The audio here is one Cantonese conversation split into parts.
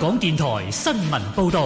港電台新聞報道。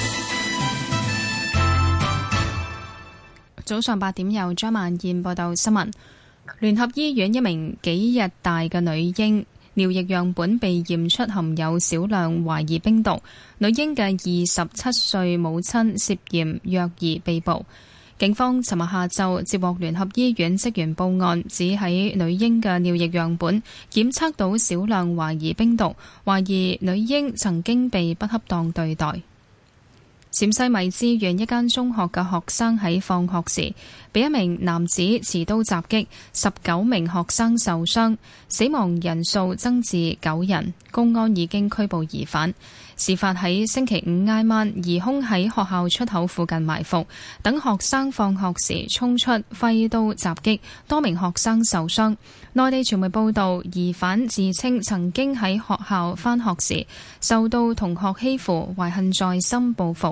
早上8點由張萬燕報道新聞。聯合醫院一名幾日大嘅女嬰尿液樣本被驗出含有少量懷疑冰毒，女嬰嘅27歲母親涉嫌虐兒被捕。警方尋日下晝接獲聯合醫院職員報案，指喺女嬰嘅尿液樣本檢測到少量懷疑冰毒，懷疑女嬰曾經被不恰當對待。陝西米脂縣一間中學嘅學生喺放學時被一名男子持刀襲擊，19名學生受傷，死亡人數增至9人。公安已經拘捕疑犯。事發喺星期五挨晚，疑兇喺學校出口附近埋伏，等學生放學時衝出揮刀襲擊，多名學生受傷。內地傳媒報道，疑犯自稱曾經喺學校返學時受到同學欺負，懷恨在心報復。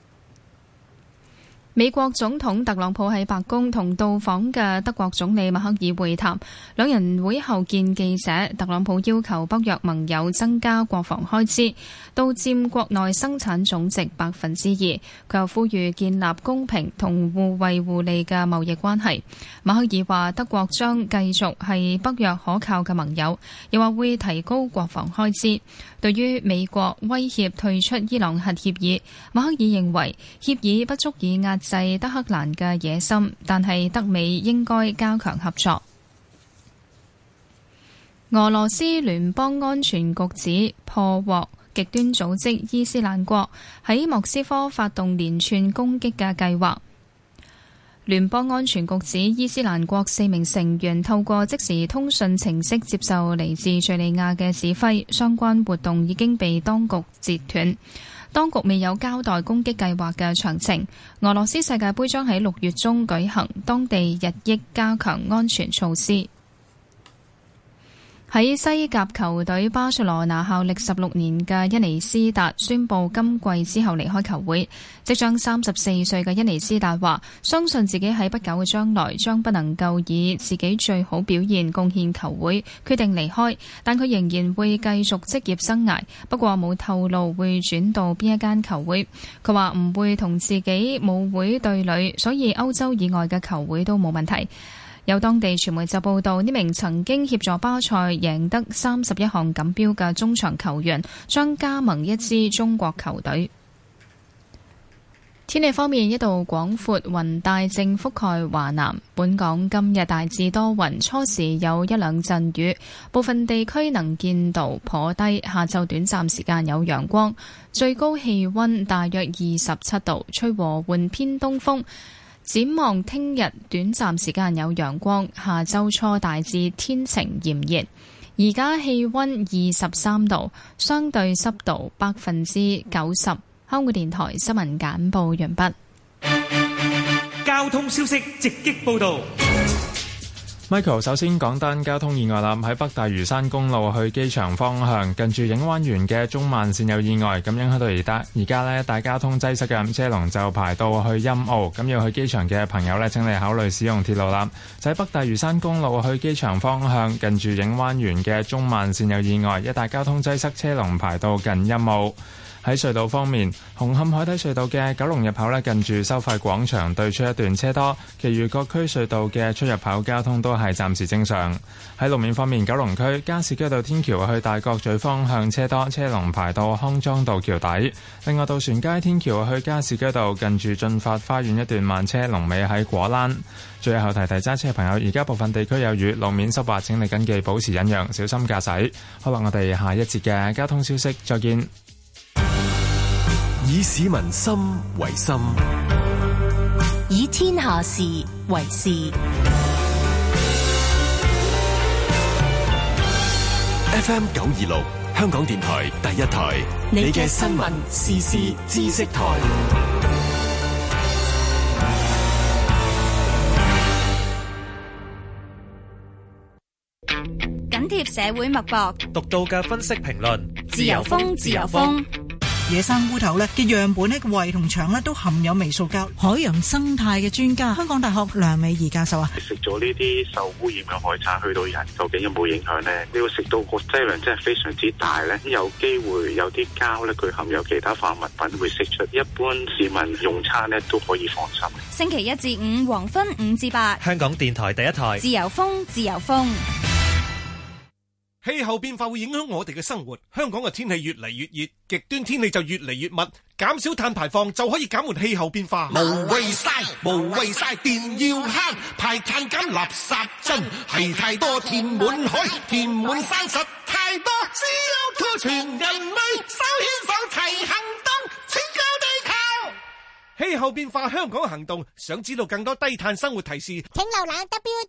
美國總統特朗普喺白宮同到訪嘅德國總理默克爾會談，兩人會後見記者。特朗普要求北約盟友增加國防開支，到佔國內生產總值2%。佢又呼籲建立公平同互惠互利嘅貿易關係。默克爾話德國將繼續係北約可靠嘅盟友，又話會提高國防開支。對於美國威脅退出伊朗核協議，默克爾認為協議不足以壓制德黑蘭嘅野心，但係德美應該加強合作。俄羅斯聯邦安全局指破獲極端組織伊斯蘭國喺莫斯科發動連串攻擊嘅計劃。聯邦安全局指伊斯蘭國4名成員透過即時通訊程式接受嚟自敘利亞嘅指揮，相關活動已經被當局截斷。當局未有交代攻擊計劃嘅詳情。俄羅斯世界盃將喺6月中舉行，當地日益加強安全措施。喺西甲球隊巴塞羅那效力16年嘅伊尼斯達宣布今季之後離開球會。即將34歲嘅伊尼斯達話，相信自己喺不久嘅將來將不能夠以自己最好表現貢獻球會，決定離開。但佢仍然會繼續職業生涯，不過冇透露會轉到邊一間球會。佢話唔會同自己母會對壘，所以歐洲以外嘅球會都冇問題。有當地傳媒就報道，呢名曾經協助巴塞贏得31項錦標嘅中場球員將加盟一支中國球隊。天氣方面，一道廣闊雲帶正覆蓋華南。本港今日大致多雲，初時有一兩陣雨，部分地區能見度頗低。下晝短暫時間有陽光，最高氣溫大約27度，吹和緩偏東風。展望聽日短暫時間有陽光，下周初大致天晴炎熱。而家氣溫23度，相對濕度90%。香港電台新聞簡報完畢。 交通消息直擊報道。 Michael 首先講單交通意外啦，喺北大嶼山公路去機場方向，近住影灣園嘅中慢線有意外，咁影響到而家呢大交通擠塞嘅，車龍就排到去陰澳，咁要去機場嘅朋友呢，請你考慮使用鐵路啦。就喺北大嶼山公路去機場方向，近住影灣園嘅中慢線有意外，一帶交通擠塞，車龍排到近陰澳。喺隧道方面，紅磡海底隧道嘅九龍入口呢，近住收費廣場對出一段車多，其餘各區隧道嘅出入口交通都係暫時正常。喺路面方面，九龍區加士居道天橋去大角咀方向車多，車龍排到康莊道橋底。另外，渡船街天橋去加士居道近住駿發花園一段慢車，龍尾喺果欄。最後提揸車嘅朋友，而家部分地區有雨，路面濕滑，請你謹記保持忍讓，小心駕駛。好啦，我哋下一節嘅交通消息再見。 以市民心為心， 以天下事為事。 FM 926，香港電台第一台，你嘅新聞時事知識台。 緊貼社會脈搏， 獨到嘅分析評論， 自由風，自由風。 野生烏頭咧嘅樣本咧個胃同腸咧都含有微塑膠。海洋生態嘅專家，香港大學梁美儀教授啊， 食咗呢啲受污染嘅海產去到人，究竟有冇影響呢？你要食到個劑量真係非常之大呢，有機會有啲膠咧，佢含有其他化物品會釋出。一般市民用餐咧都可以放心。 星期一至五黃昏5至8， 香港電台第一台， 自由風，自由風。 氣候變化會影響我哋嘅生活，香港嘅天氣越嚟越熱，極端天氣就越嚟越密，減少碳排放就可以減緩氣候變化。 無謂晒，電要慳，排碳減垃圾樽，係太多填滿海，填滿山實太多，CO2全人類手牽手齊行動，拯救地球。 氣候變化香港行動，想知道更多低碳生活提示， 請瀏覽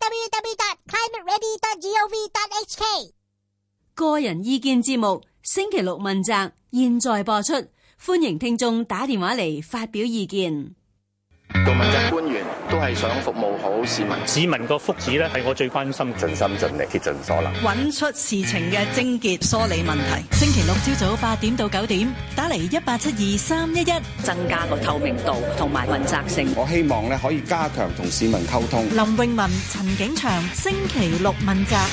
www.climateready.gov.hk。 個人意見節目星期六問責，現在播出，歡迎聽眾打電話嚟發表意見。 做問責官員都係想服務好市民， 市民個福祉咧係我最關心， 盡心盡力竭盡所能， 揾出事情嘅症結，梳理問題。星期六朝早8點到9點，打嚟1872-311， 增加個透明度同埋問責性。 我希望咧可以加強同市民溝通。 林詠雯、陳景祥，星期六問責。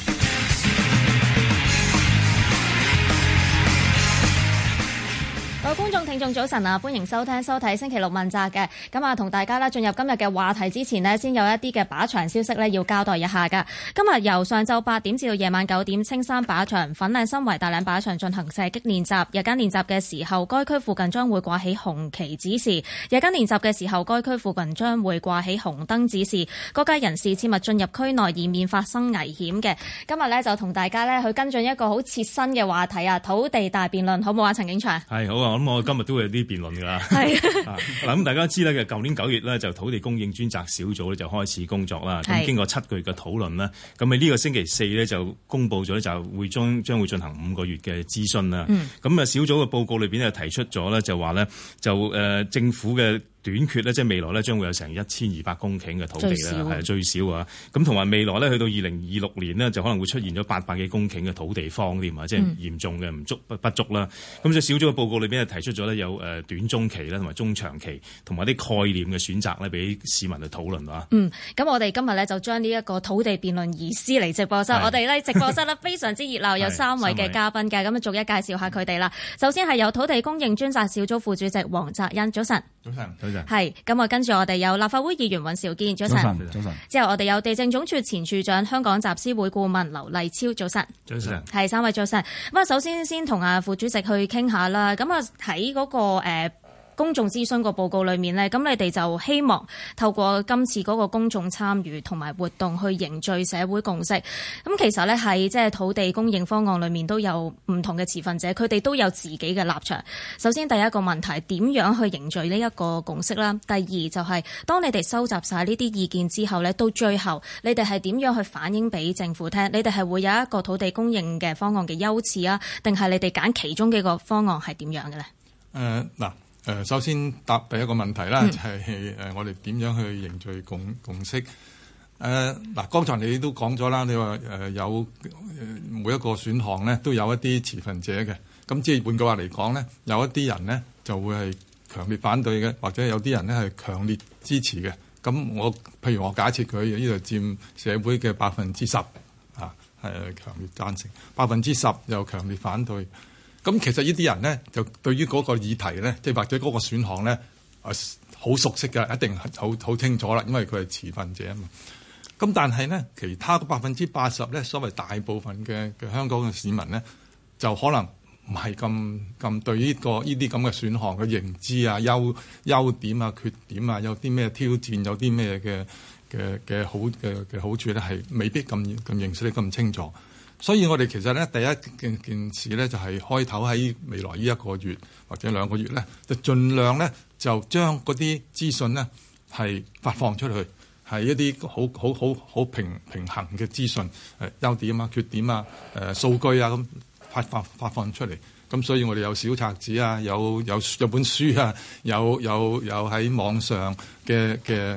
各位觀眾聽眾早晨啊，歡迎收聽收睇星期六問責嘅。咁啊，同大家咧進入今日嘅話題之前呢，先有一啲嘅靶場消息咧要交代一下噶。今日由上晝8點至到夜晚9點，青山靶場、粉嶺新圍大嶺靶場進行射擊練習。日間練習嘅時候，該區附近將會掛起紅旗指示；夜間練習嘅時候，該區附近將會掛起紅燈指示。各界人士切勿進入區內，以免發生危險嘅。今日咧就同大家咧去跟進一個好切身嘅話題啊，土地大辯論，好唔好啊？陳景祥係好啊。咁我今日都會有啲辯論㗎啦。 係嗱，咁大家知咧嘅，舊年9月咧就土地供應專責小組咧就開始工作啦。咁經過7個月嘅討論啦，咁喺呢個星期4咧就公佈咗咧，就會將會進行5個月嘅諮詢啦。咁啊小組嘅報告裏邊咧提出咗咧，就話咧政府嘅短缺咧，即係未來咧將會有成1200公頃嘅土地啦，係最少啊。咁同埋未來咧去到2026年呢，就可能會出現咗800幾公頃嘅土地荒添啊，即係嚴重嘅不足啦。咁所以小組嘅報告裏邊提出咗咧有短中期啦，同埋中長期，同埋啲概念嘅選擇咧，俾市民去討論啊。 咁我哋今日咧就將呢一個土地辯論移師嚟直播室。我哋咧直播室咧非常之熱鬧，有3位嘅嘉賓嘅，咁啊逐一介紹下佢哋啦。首先係有土地供應專責小組副主席黃澤恩，早晨。 早晨。 係，咁啊，跟住我哋有立法會議員尹兆堅，早晨。 早晨。 之後我哋有地政總署前署長、香港集思會顧問劉勵超，早晨。 早晨。 係3位早晨。咁啊，首先同阿副主席去傾下啦。咁啊，喺嗰個公眾諮詢個報告裏面呢，咁你哋就希望透過今次嗰個公眾參與同埋活動去凝聚社會共識。咁其實呢，喺即係土地供應方案裏面都有唔同嘅持份者，佢哋都有自己嘅立場。首先第一個問題，點樣去凝聚呢一個共識啦？第二就係當你哋收集晒呢啲意見之後呢，到最後你哋係點樣去反映俾政府聽？你哋係會有一個土地供應嘅方案嘅優次啊，定係你哋揀其中幾個方案係點樣嘅呢？ 首先答第一個問題啦，就係我哋點樣去凝聚共識？剛才你都講咗啦，你話有每一個選項咧都有一啲持份者嘅，咁即係換句話嚟講咧，有一啲人咧就會係強烈反對嘅，或者有啲人咧係強烈支持嘅。咁譬如我假設佢呢度佔社會嘅10%啊，係強烈贊成，10%又強烈反對。咁其實呢啲人咧，就對於嗰個議題咧，即係或者嗰個選項咧，好熟悉嘅，一定好清楚啦，因為佢係持份者啊嘛。咁但係咧，其他嘅80%咧，所謂大部分嘅香港嘅市民咧，就可能唔係咁對呢啲咁嘅選項嘅認知啊、優點啊、缺點啊，有啲咩挑戰，有啲咩嘅好處咧，係未必咁認識得咁清楚。所以我哋其實咧第一件事咧就係開頭喺未來呢1個月或者2個月咧，就盡量咧就將嗰啲資訊咧係發放出去，係一啲好平衡嘅資訊，優點啊、缺點啊、數據啊咁發放出嚟。咁所以我哋有小冊子啊，有本書啊，有喺網上嘅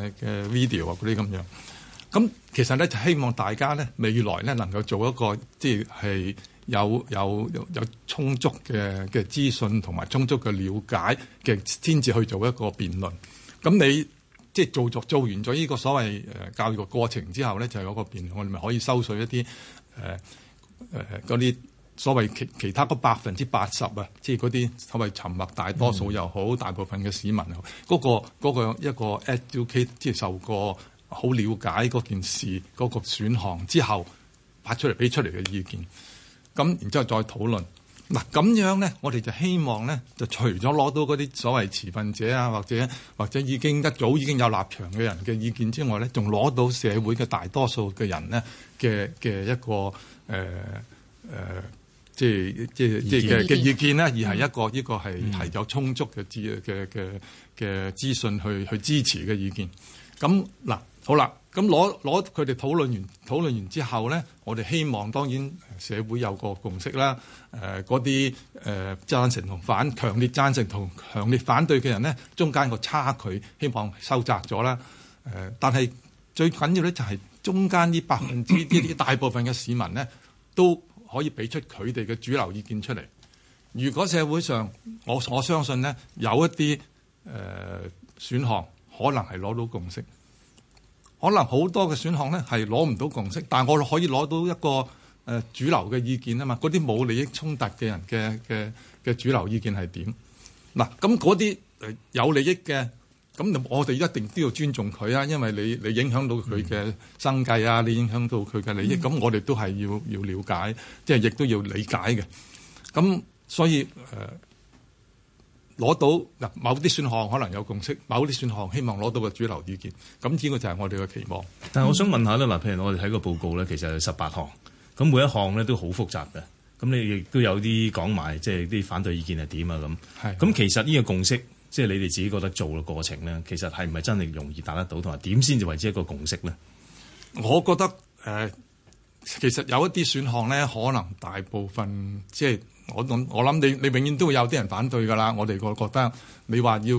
video 啊嗰啲咁樣。咁其實咧就希望大家咧未來咧能夠做一個即係有充足嘅資訊同埋充足嘅了解嘅，先至去做一個辯論。咁你即係做完咗呢個所謂教育嘅過程之後咧，就有一個辯論，我哋咪可以收取一啲嗰啲所謂其他嗰80%啊，即係嗰啲所謂沉默大多數又好，大部分嘅市民又好，嗰個一個 educate 即係受過好了解嗰件事嗰個選項之後俾出嚟嘅意見，咁然之後再討論。嗱咁樣咧，我哋就希望咧，就除咗攞到嗰啲所謂持份者啊，或者已經一早已經有立場嘅人嘅意見之外咧，仲攞到社會嘅大多數嘅人咧嘅一個即係嘅意見咧，而係呢個係有充足嘅資訊去支持嘅意見。咁嗱好啦。咁攞佢哋討論完之後咧，我哋希望當然社會有個共識啦。嗰啲贊成同強烈贊成同強烈反對嘅人咧，中間個差距希望收窄咗啦。但係最緊要咧就係中間呢啲大部分嘅市民咧，都可以俾出佢哋嘅主流意見出嚟。如果社會上我相信咧有一啲選項可能係攞到共識。可能好多嘅選項咧係攞唔到共識，但係我可以攞到一個主流嘅意見啊嘛。嗰啲冇利益衝突嘅人嘅主流意見係點？嗱，咁嗰啲有利益嘅，咁我哋一定都要尊重佢啊，因為你影響到佢嘅生計啊，你影響到佢嘅利益，咁我哋都係要了解，即係亦都要理解嘅。咁所以攞到嗱，某啲選項可能有共識，某啲選項希望攞到個主流意見，咁呢個就係我哋嘅期望。 但係我想問下咧，嗱，譬如我哋睇個報告咧，其實有18項，咁每一項咧都好複雜嘅，咁你亦都有啲講埋，即係啲反對意見係點啊咁。係。咁其實呢個共識，即係你哋自己覺得做嘅過程咧，其實係唔係真係容易達得到，同埋點先至為之一個共識咧？ 我覺得其實有一啲選項咧，可能大部分即係。我諗你永遠都會有啲人反對㗎啦。我哋覺得你話要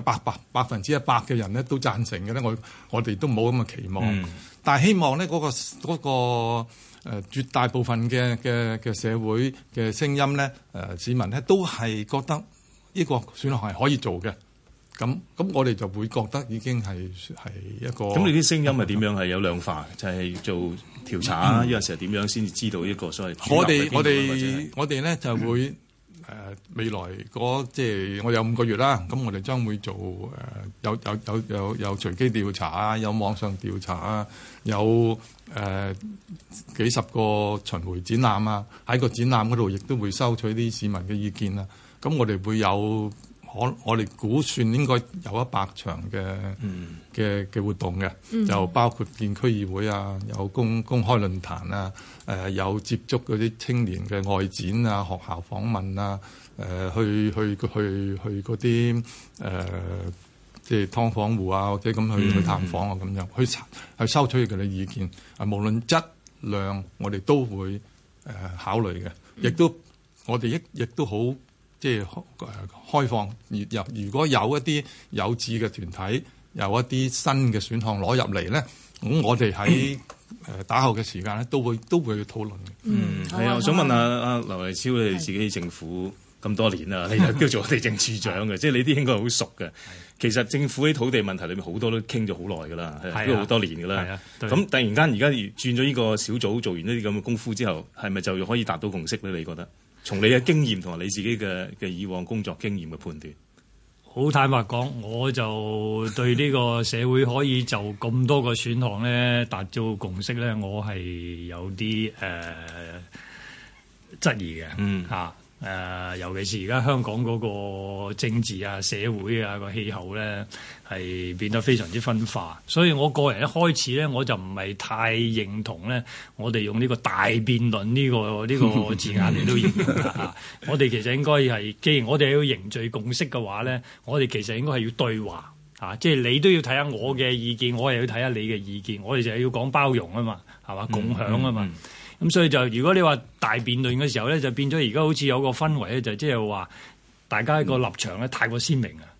100%嘅人咧都贊成嘅咧，我哋都冇咁嘅期望。但係希望咧嗰個絕大部分嘅社會嘅聲音咧，市民咧都係覺得呢個選項係可以做嘅。咁我哋就會覺得已經係一個。咁你啲聲音係點樣係有量化？就係做調查啊？有陣時係點樣先至知道呢個所謂？ 我哋咧就會未來即係我有5個月啦。咁我哋將會做有隨機調查啊，有網上調查啊，有幾十個巡迴展覽啊。喺個展覽嗰度亦都會收取啲市民嘅意見啊。咁我哋會有。我哋估算應該有100場嘅活動嘅，就包括建區議會啊，有公開論壇啊，有接觸嗰啲青年嘅外展啊，學校訪問啊，去嗰啲即係劏房戶啊，或者咁去探訪啊，咁樣去收取佢哋意見。無論質量，我哋都會考慮嘅，亦都我哋亦都好。即係開放如果有一啲有志嘅團體，有一啲新嘅選項攞入嚟咧，咁我哋喺打後嘅時間咧都會去討論嘅。 係啊，我想問下阿劉勵超，你哋自己政府咁多年啦，你又叫做地政處長嘅，即係你啲應該好熟嘅。其實政府喺土地問題裏面好多都傾咗好耐㗎啦，都好多年㗎啦。咁突然間而家轉咗呢個小組做完呢啲咁嘅功夫之後，係咪就可以達到共識咧？你覺得？從你嘅經驗同埋你自己嘅以往工作經驗嘅判斷， 好坦白講，我就對呢個社會可以就咁多個選項咧達到共識咧，我係有啲質疑嘅。尤其是而家香港嗰個政治啊、社會啊個氣候咧，係變得非常之分化。所以我個人一開始咧，我就唔係太認同咧，我哋用呢個大辯論呢個字眼嚟到形容啦。我哋其實應該係，既然我哋要凝聚共識嘅話咧，我哋其實應該係要對話嚇，即係你都要睇下我嘅意見，我又要睇下你嘅意見，我哋就係要講包容啊嘛，係嘛，共享啊嘛。咁所以就如果你話大辯論嘅時候咧，就變咗而家好似有個氛圍咧，就即係話大家個立場咧太過鮮明啊！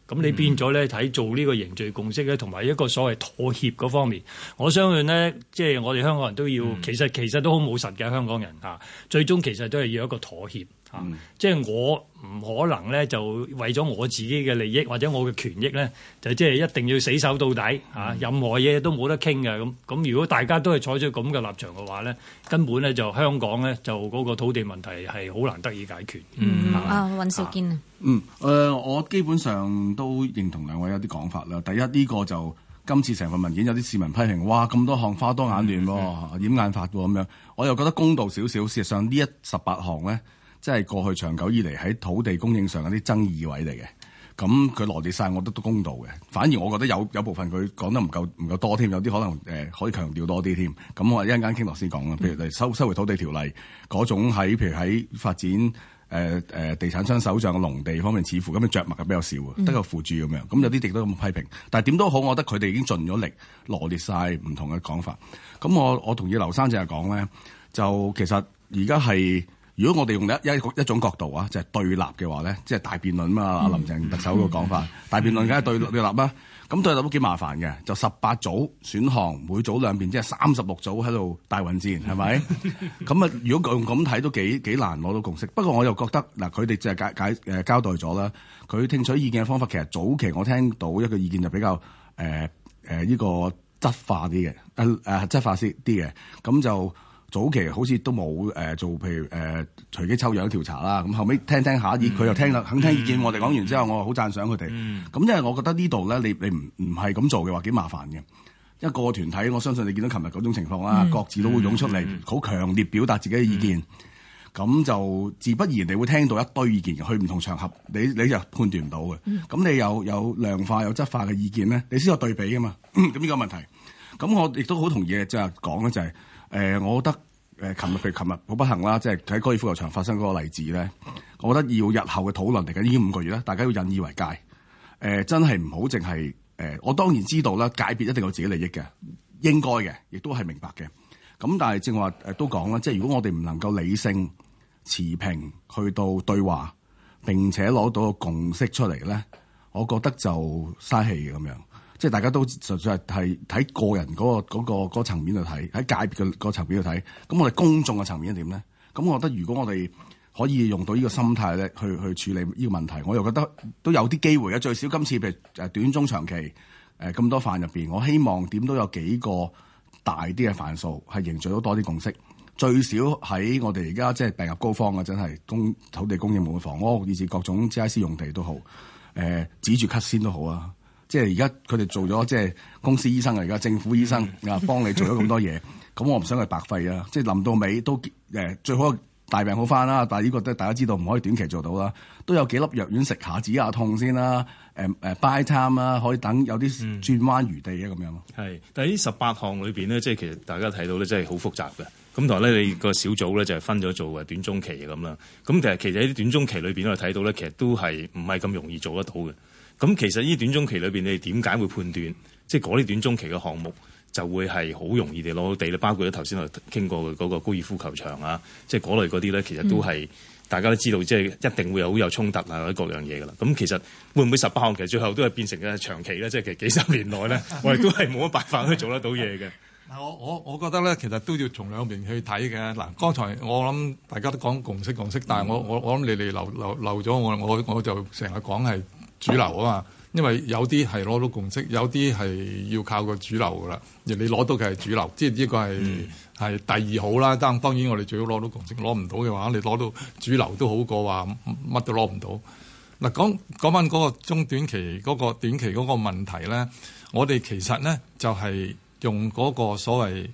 咁你變咗咧喺做呢個凝聚共識咧，同埋一個所謂妥協嗰方面，我相信呢，即係我哋香港人都要，其實都好務實嘅香港人嚇，最終其實都係要一個妥協嚇，即係我唔可能咧就為咗我自己嘅利益或者我嘅權益咧，就即係一定要死守到底嚇，任何嘢都冇得傾嘅咁。如果大家都係採取咁嘅立場嘅話咧，根本咧就香港咧就嗰個土地問題係好難得以解決。 尹兆堅啊。 我基本上都認同兩位有啲講法啦。第一，呢個就今次成份文件有啲市民批評，哇咁多項花多眼亂喎，掩眼法喎咁樣。我又覺得公道少少。事實上呢18項呢，即係過去長久以嚟喺土地供應上有啲爭議位嚟嘅。咁佢羅列晒，我覺得都公道嘅。反而我覺得有部分佢講得唔夠多添，有啲可能可以強調多啲添。咁我一陣間傾落先講啦。譬如收回土地條例嗰種譬如喺發展。地產商手上嘅農地方面，似乎咁嘅著墨係比較少嘅，得個附註咁樣。咁有啲亦都咁批評，但係點都好，我覺得佢哋已經盡咗力羅列晒唔同嘅講法。咁我同意劉生淨係講咧，就其實而家係如果我哋用一種角度啊，就係對立嘅話咧，即係大辯論嘛。阿林鄭特首個講法，大辯論梗係對立啦。咁對立都幾麻煩嘅，就18組選項，每組兩邊即係36組喺度大混戰，係咪？咁啊，如果咁睇都幾難攞到共識。不過我又覺得嗱，佢哋就係交代咗啦，佢聽取意見嘅方法其實早期我聽到一個意見就比較呢個質化啲嘅，質化啲嘅，咁就。早期好似都冇做，譬如隨機抽樣調查啦。咁後尾聽下，佢又聽啦，肯聽意見。我哋講完之後，我好讚賞佢哋。咁因為我覺得呢度咧，你唔係咁做嘅話，幾麻煩嘅。一個團體，我相信你見到琴日嗰種情況啦，各自都會湧出嚟，好強烈表達自己嘅意見。咁就自不然你會聽到一堆意見嘅，去唔同場合，你就判斷唔到嘅。咁你有量化有質化嘅意見咧，你先有對比㗎嘛。咁呢個問題。咁我亦都好同意嘅，即係講咧就係。我覺得琴日好不幸啦，即係喺高爾夫球場發生嗰個例子咧，我覺得要日後嘅討論嚟緊已經5個月啦，大家要引以為戒。真係唔好淨係我當然知道啦，界別一定有自己利益嘅，應該嘅，亦都係明白嘅。咁但係正話都講啦，即係如果我哋唔能夠理性持平去到對話，並且攞到個共識出嚟咧，我覺得就嘥氣嘅咁樣。即係大家都實在係睇個人嗰個層面去睇，喺界別嘅個層面去睇。咁我哋公眾嘅層面係點咧？咁我覺得如果我哋可以用到呢個心態咧，去處理呢個問題，我又覺得都有啲機會嘅。最少今次譬如短中長期咁多範入邊，我希望點都有幾個大啲嘅範數係凝聚到多啲共識。最少喺我哋而家即係病入膏肓嘅，真係土地供應冇房屋，以至各種 GIC 用地都好，止住咳先都好啊。即係而家佢哋做咗即係公司醫生啊，而家政府醫生幫你做咗咁多嘢，咁我唔想佢白費啊！即係臨到尾都最好大病好翻啦，但係呢個都大家知道唔可以短期做到啦，都有幾粒藥丸食下止下痛先啦，buy time 啦，可以等有啲轉彎餘地啊咁樣咯。 係，但係呢18項裏邊呢，即係其實大家睇到咧，真係好複雜嘅。咁同埋咧，你個小組咧就係分咗做短中期咁啦。咁其實喺啲短中期裏邊我哋睇到咧，其實都係唔係咁容易做得到嘅。咁其實呢短中期裏邊，你哋點解會判斷，即係嗰啲短中期嘅項目就會係好容易地攞到地咧？包括咗頭先我傾過嘅嗰個高爾夫球場啊，即係嗰類嗰啲咧，其實都係大家都知道，即係一定會好有衝突啊，或者各樣嘢噶啦。咁其實會唔會18項其實最後都係變成嘅長期咧？即係其實幾十年內咧，我哋都係冇乜辦法去做得到嘢嘅。 我覺得咧，其實都要從兩邊去睇嘅。嗱，剛才我諗大家都講共識，但係我諗你哋漏咗我就成日講係主流啊嘛，因為有啲係攞到共識，有啲係要靠個主流噶啦。而你攞到嘅係主流，即係呢個係第二好啦。當然我哋最好攞到共識，攞唔到嘅話，你攞到主流都好過話乜都攞唔到。嗱，講翻嗰個中短期嗰個短期嗰個問題咧，我哋其實咧就係用嗰個所謂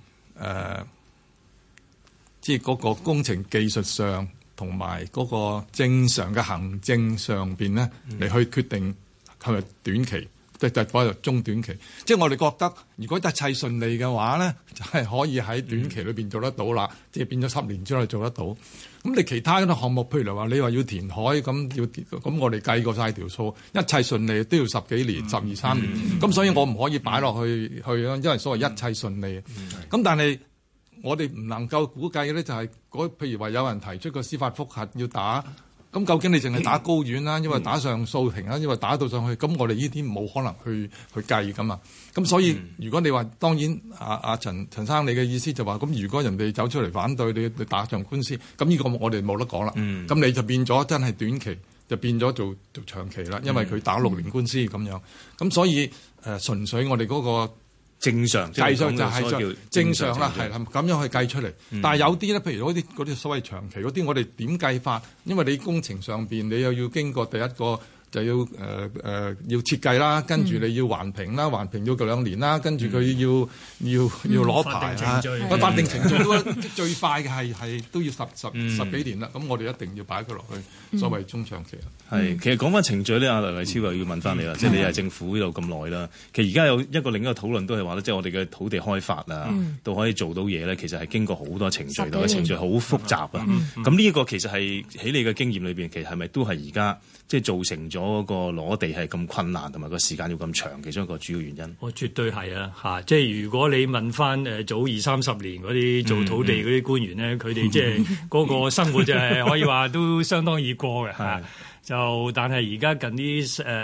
即係嗰個工程技術上同埋嗰個正常嘅行政上邊咧嚟去決定係咪短期，即係嗰個中短期。即係我哋覺得，如果一切順利嘅話咧，就係可以喺短期裏邊做得到啦。即係變咗10年之內做得到。咁你其他嗰啲項目，譬如話你話要填海咁我哋計過晒條數，一切順利都要10幾年、12、13年。咁所以我唔可以擺落去啦，因為所謂一切順利。咁但係我哋唔能夠估計咧，就係譬如話有人提出個司法覆核要打咁究竟你淨係打高院啦，因為打上訴庭啦，因為打到上去，咁我哋呢啲冇可能去計噶嘛。咁所以如果你話當然阿陳生你嘅意思就話，咁如果人哋走出嚟反對你打場官司，咁呢個我哋冇得講啦。咁你就變咗真係短期就變咗做長期啦，因為佢打6年官司咁樣。咁所以純粹我哋嗰個正常計上就係正常啦，係咁樣去計出嚟。但係有啲咧，譬如嗰啲所謂長期嗰啲，我哋點計法？因為你工程上邊你又要經過第一個就要要設計啦，跟住你要環評啦，環評要2年啦，跟住佢要攞牌啊，法定程序都最快嘅係都要十幾年啦。咁我哋一定要擺佢落去所謂中長期啦。 係，其實講翻程序咧，阿梁勵超又要問翻你啦，即係你係政府呢度咁耐啦。其實而家有另一個討論都係話咧，即係我哋嘅土地開發啊，都可以做到嘢咧，其實係經過好多程序，個程序好複雜啊。咁呢一個其實係喺你嘅經驗裏邊，其實係咪都係而家即係造成咗個攞地係咁困難，同埋個時間要咁長，其中一個主要原因？ 我絕對係啊！嚇，即係如果你問翻早20-30年嗰啲做土地嗰啲官員咧，佢哋即係嗰個生活就係可以話都相當易過嘅嚇。就但係而家近呢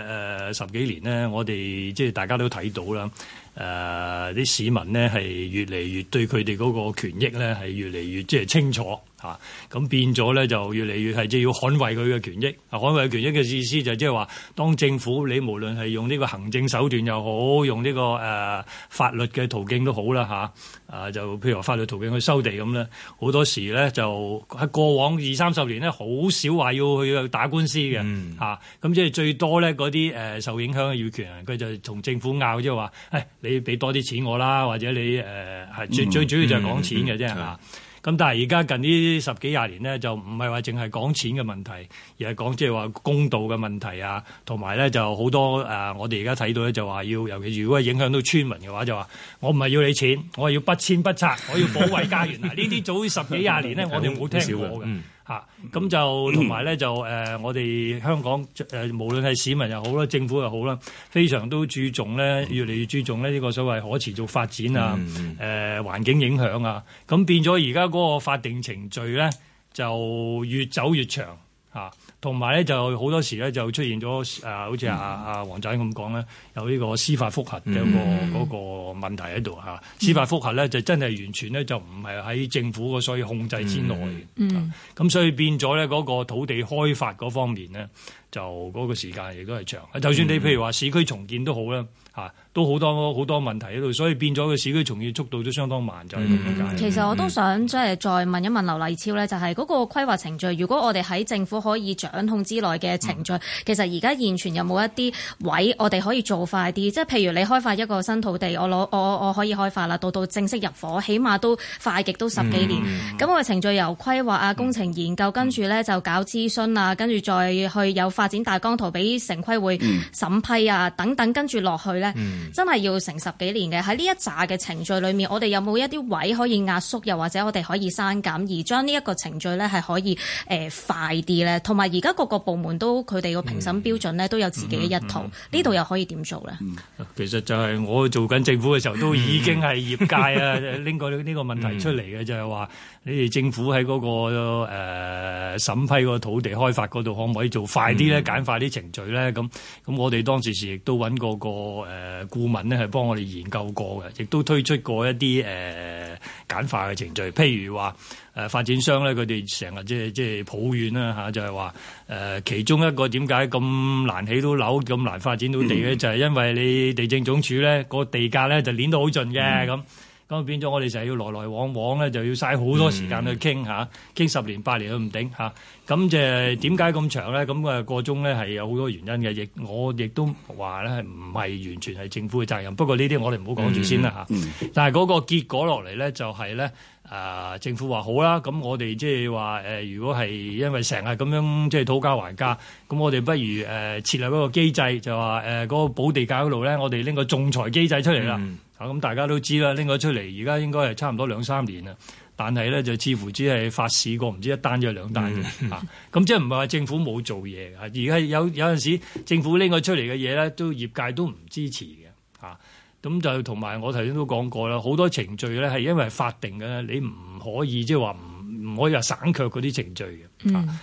10幾年咧，我哋即係大家都睇到啦。啲市民呢係越嚟越對佢哋嗰個權益咧係越嚟越即係清楚嚇，咁變咗咧就越嚟越係即係要捍衛佢嘅權益。捍衛權益嘅意思就即係話，當政府你無論係用呢個行政手段又好，用呢個法律嘅途徑都好啦嚇，就譬如話法律途徑去收地咁咧，好多時咧就喺過往20-30年咧，好少話要去打官司嘅嚇，咁即係最多咧嗰啲受影響嘅業權人，佢就同政府拗，即係話你俾多啲錢我啦，或者你最主要就係講錢嘅啫嚇。咁但係而家近呢10幾20年呢，就唔係話淨係講錢嘅問題，而係講即係話公道嘅問題啊，同埋咧就好多我哋而家睇到咧就話要，尤其如果係影響到村民嘅話，就話我唔係要你錢，我係要不遷不拆，我要保衞家園。嗱，呢啲早10幾20年呢，我哋冇聽過嘅。咁就同埋咧就我哋香港無論係市民又好啦，政府又好啦，非常都注重咧，越嚟越注重咧呢個所謂可持續發展啊，環境影響啊，咁變咗而家嗰個法定程序咧就越走越長嚇。同埋咧就好多時咧就出現咗好似阿黃仔咁講咧，有呢個司法覆核嘅嗰個問題喺度嚇。司法覆核咧就真係完全咧就唔係喺政府嘅所以控制之內嘅。咁所以變咗咧嗰個土地開發嗰方面咧，就嗰個時間亦都係長。就算你譬如話市區重建都好啦。都好多問題喺度，所以變咗個市區重建速度都相當慢，就係咁樣解。 其實我都想即係再問一問劉勵超咧，就係嗰個規劃程序，如果我哋喺政府可以掌控之內嘅程序，其實而家現存有冇一啲位我哋可以做快啲？即係譬如你開發一個新土地，我可以開發啦，到正式入伙，起碼都快極都10幾年。咁個程序由規劃啊、工程研究，跟住咧就搞諮詢啊，跟住再去有發展大綱圖俾城規會審批啊等等，跟住落去咧。真係要成10幾年嘅。喺呢一紮嘅程序裏面，我哋有冇一啲位可以壓縮，又或者我哋可以刪減，而將呢一個程序咧係可以快啲咧？同埋而家各個部門都佢哋個評審標準咧都有自己嘅一套，呢度又可以點做咧？ 其實就係我做緊政府嘅時候，都已經係業界啊拎過呢個問題出嚟嘅，就係話你哋政府喺嗰個審批個土地開發嗰度，可唔可以做快啲咧？簡化啲程序咧？咁我哋當時亦都揾過個顧問呢係幫我哋研究過嘅，亦都推出過一啲簡化嘅程序。譬如話發展商咧，佢哋成日即係抱怨啦嚇，就係話其中一個點解咁難起到樓、咁難發展到地咧，就係因為你地政總署咧個地價咧就攣到好盡嘅咁變咗我哋成日要來來往往咧，就要嘥好多時間去傾嚇，傾10年8年都唔頂嚇。咁就點解咁長咧？咁個中咧係有好多原因嘅，我亦都話咧唔係完全係政府嘅責任。不過呢啲我哋唔好講住先啦嚇。但係嗰個結果落嚟咧，就係咧政府話好啦，咁我哋即係話如果係因為成日咁樣即係討價還價，咁我哋不如設立一個機制，就話嗰個補地價嗰度咧，我哋拎個仲裁機制出嚟啦。咁大家都知啦，拎咗出嚟，而家應該係差唔多2-3年啦。但係咧就似乎只係發市過唔知1單定2單嘅咁即係唔係話政府冇做嘢嘅。而家有陣時政府拎咗出嚟嘅嘢咧，都業界都唔支持嘅咁就同埋我頭先都講過啦，好多程序咧係因為法定嘅，你唔可以即係話唔可以話省卻嗰啲程序嘅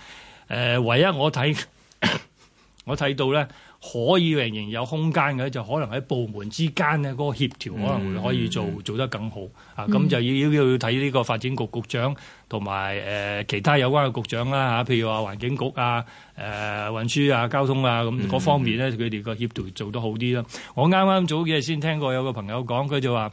唯一我睇到咧，可以仍然有空間嘅，就可能喺部門之間咧嗰個協調可能會可以做得更好啊！咁就要睇呢個發展局局長同埋其他有關嘅局長啦嚇，譬如話環境局啊、運輸啊、交通啊咁嗰方面咧，佢哋個協調做得好啲啦。我啱啱早幾日先聽過有個朋友講，佢就話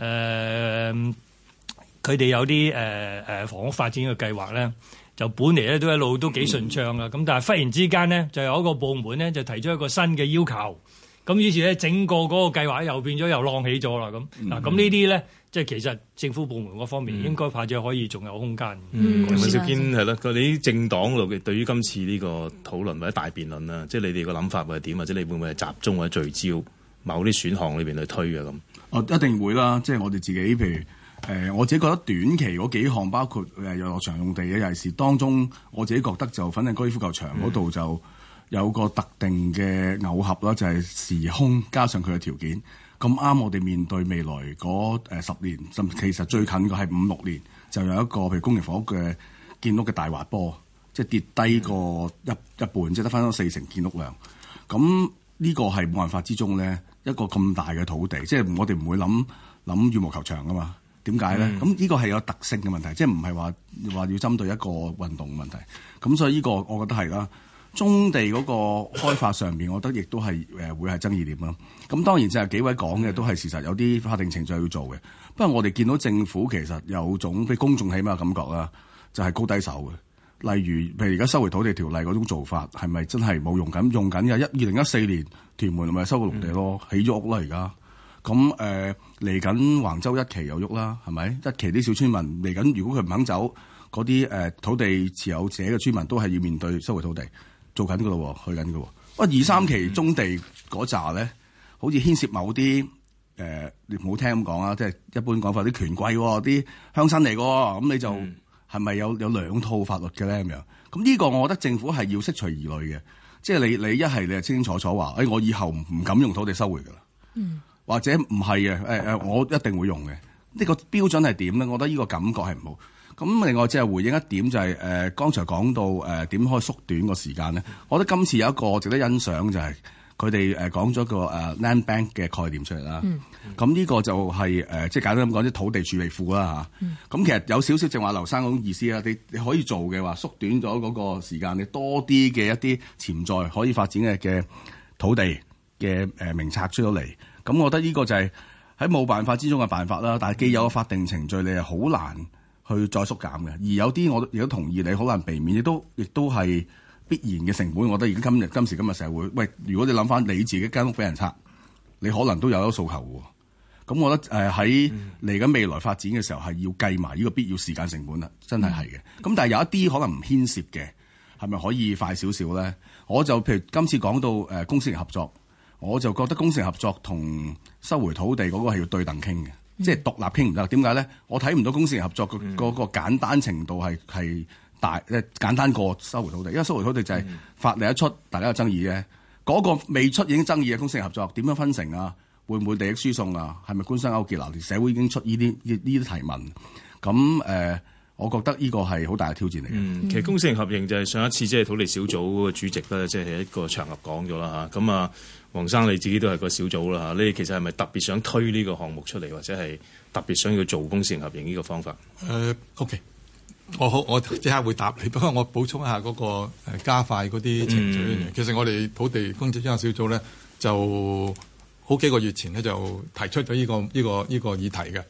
佢哋有啲房屋發展嘅計劃咧。就本嚟咧都一路都幾順暢啦，咁但係忽然之間呢，就有一個部門呢，就提出一個新嘅要求，咁於是咧整個嗰個計劃又變咗又浪起咗啦咁。嗱咁呢啲咧，即係其實政府部門嗰方面應該或者可以仲有空間。 尹兆堅係啦，佢哋啲政黨度嘅對於今次呢個討論或者大辯論啦，即係你哋個諗法會係點，或者你會唔會係集中或者聚焦某啲選項裏邊去推啊咁？ 一定會啦，即係我哋自己譬如。我自己覺得短期嗰幾項包括遊樂場用地嘅，尤其是當中我自己覺得就粉嶺高爾夫球場嗰度就有個特定嘅偶合啦，就係時空加上佢嘅條件咁啱，我哋面對未來嗰10年，甚至其實最近嘅係5-6年，就有一個譬如公營房屋嘅建屋嘅大滑坡，即係跌低個一半，即係得翻咗40%建屋量。咁呢個係冇辦法之中咧，一個咁大嘅土地，即係我哋唔會諗羽毛球場噶嘛。點解咧？咁呢個係有特性嘅問題，即係唔係話要針對一個運動嘅問題。咁所以呢個我覺得係啦。棕地嗰個開發上面，我覺得亦都係會係爭議點啦。咁當然就係幾位講嘅都係事實，有啲法定程序要做嘅。不過我哋見到政府其實有種俾公眾起碼感覺啦，就係高低手嘅。例如譬如而家收回土地條例嗰種做法，係咪真係冇用緊？用緊嘅2014年屯門咪收個農地咯，起咗屋啦而家。咁嚟緊橫洲一期又喐啦，係咪？一期啲小村民嚟緊，如果佢唔肯走，嗰啲土地持有者嘅村民都係要面對收回土地，做緊㗎咯，去緊㗎喎。不過2-3期棕地嗰紮咧，好似牽涉某啲你唔好聽咁講啊，即係一般講法啲權貴喎，啲鄉紳嚟㗎，咁你就係咪有兩套法律嘅咧咁樣？咁呢個我覺得政府係要釋除疑慮嘅，即係你一係你係清清楚楚話，我以後唔敢用土地收回㗎啦。或者唔係嘅，我一定會用嘅。呢個標準係點咧？我覺得呢個感覺係唔好。咁另外即係回應一點就係剛才講到點可以縮短個時間咧？我覺得今次有一個值得欣賞就係佢哋講咗個land bank 嘅概念出嚟啦。咁呢個就係即係簡單咁講啲土地儲備庫啦嚇。咁其實有少少正話劉生嗰種意思啦。你可以做嘅話，縮短咗嗰個時間，你多啲嘅一啲潛在可以發展嘅土地嘅名冊出咗嚟。咁我覺得呢個就係喺冇辦法之中嘅辦法啦，但係既有個法定程序，你係好難去再縮減嘅。而有啲我亦都同意你好難避免，亦都係必然嘅成本。我覺得而家今時今日社會，喂，如果你諗翻你自己間屋俾人拆，你可能都有咗訴求喎。咁我覺得喺嚟緊未來發展嘅時候係要計埋呢個必要時間成本啦，真係嘅。咁但係有一啲可能唔牽涉嘅，係咪可以快少少咧？我就譬如今次講到公私營合作。我就覺得公私合作同收回土地嗰個係要對等傾嘅，即係獨立傾唔得。點解咧？我睇唔到公私合作嗰個簡單程度係大簡單過收回土地，因為收回土地就係法例一出，大家有爭議嘅。嗰個未出已經爭議嘅公私合作點樣分成啊？會唔會利益輸送啊？係咪官商勾結啊？社會已經出呢啲提問。咁我覺得呢個係好大嘅挑戰嚟嘅。 其實公私合營就係上一次即係土地小組嘅主席咧，即係一個場合講咗啦嚇。咁啊，黃生你自己都係個小組啦嚇，你其實係咪特別想推呢個項目出嚟，或者係特別想要做公私合營呢個方法 ？OK， 我即刻會答你。不過我補充一下嗰個加快嗰啲程序。其實我哋土地供應專責小組咧，就好幾個月前咧就提出咗呢個議題嘅，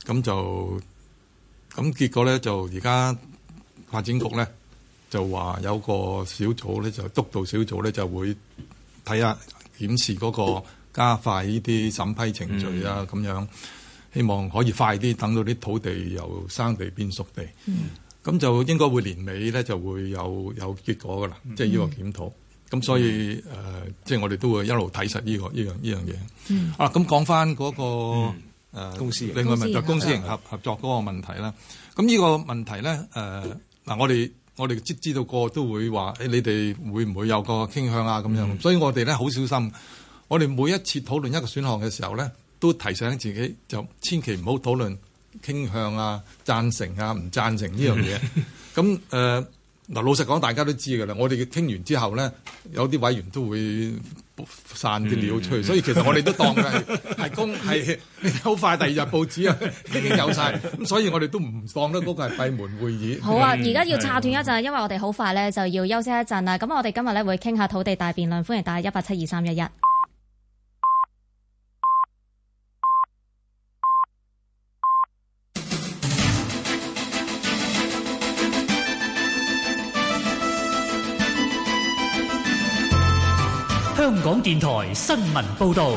咁結果咧就而家發展局咧就話有個小組咧就督導小組咧就會睇下檢視嗰個加快呢啲審批程序啊，咁樣希望可以快啲等到啲土地由生地變熟地。咁就應該會年尾咧就會有結果噶啦，即係呢個檢討。咁所以即係我哋都會一路睇實呢樣嘢。咁講翻嗰個。 公司另外問就公私營合作嗰個問題啦。咁呢個問題咧，我哋知道個都會話，你哋會唔會有個傾向啊？咁樣，所以我哋咧好小心。我哋每一次討論一個選項嘅時候咧，都提醒自己就千祈唔好討論傾向啊、贊成啊、唔贊成呢樣嘢。咁嗱，老實講，大家都知㗎啦。我哋傾完之後咧，有啲委員都會散啲料出去，所以其實我哋都當佢係公係好快，第二日報紙啊已經有晒，咁所以我哋都唔當得嗰個係閉門會議。 好啊，而家要岔斷一陣，因為我哋好快咧就要休息一陣啦。咁我哋今日咧會傾下土地大辯論，歡迎打1872311。 香港電台新聞報導。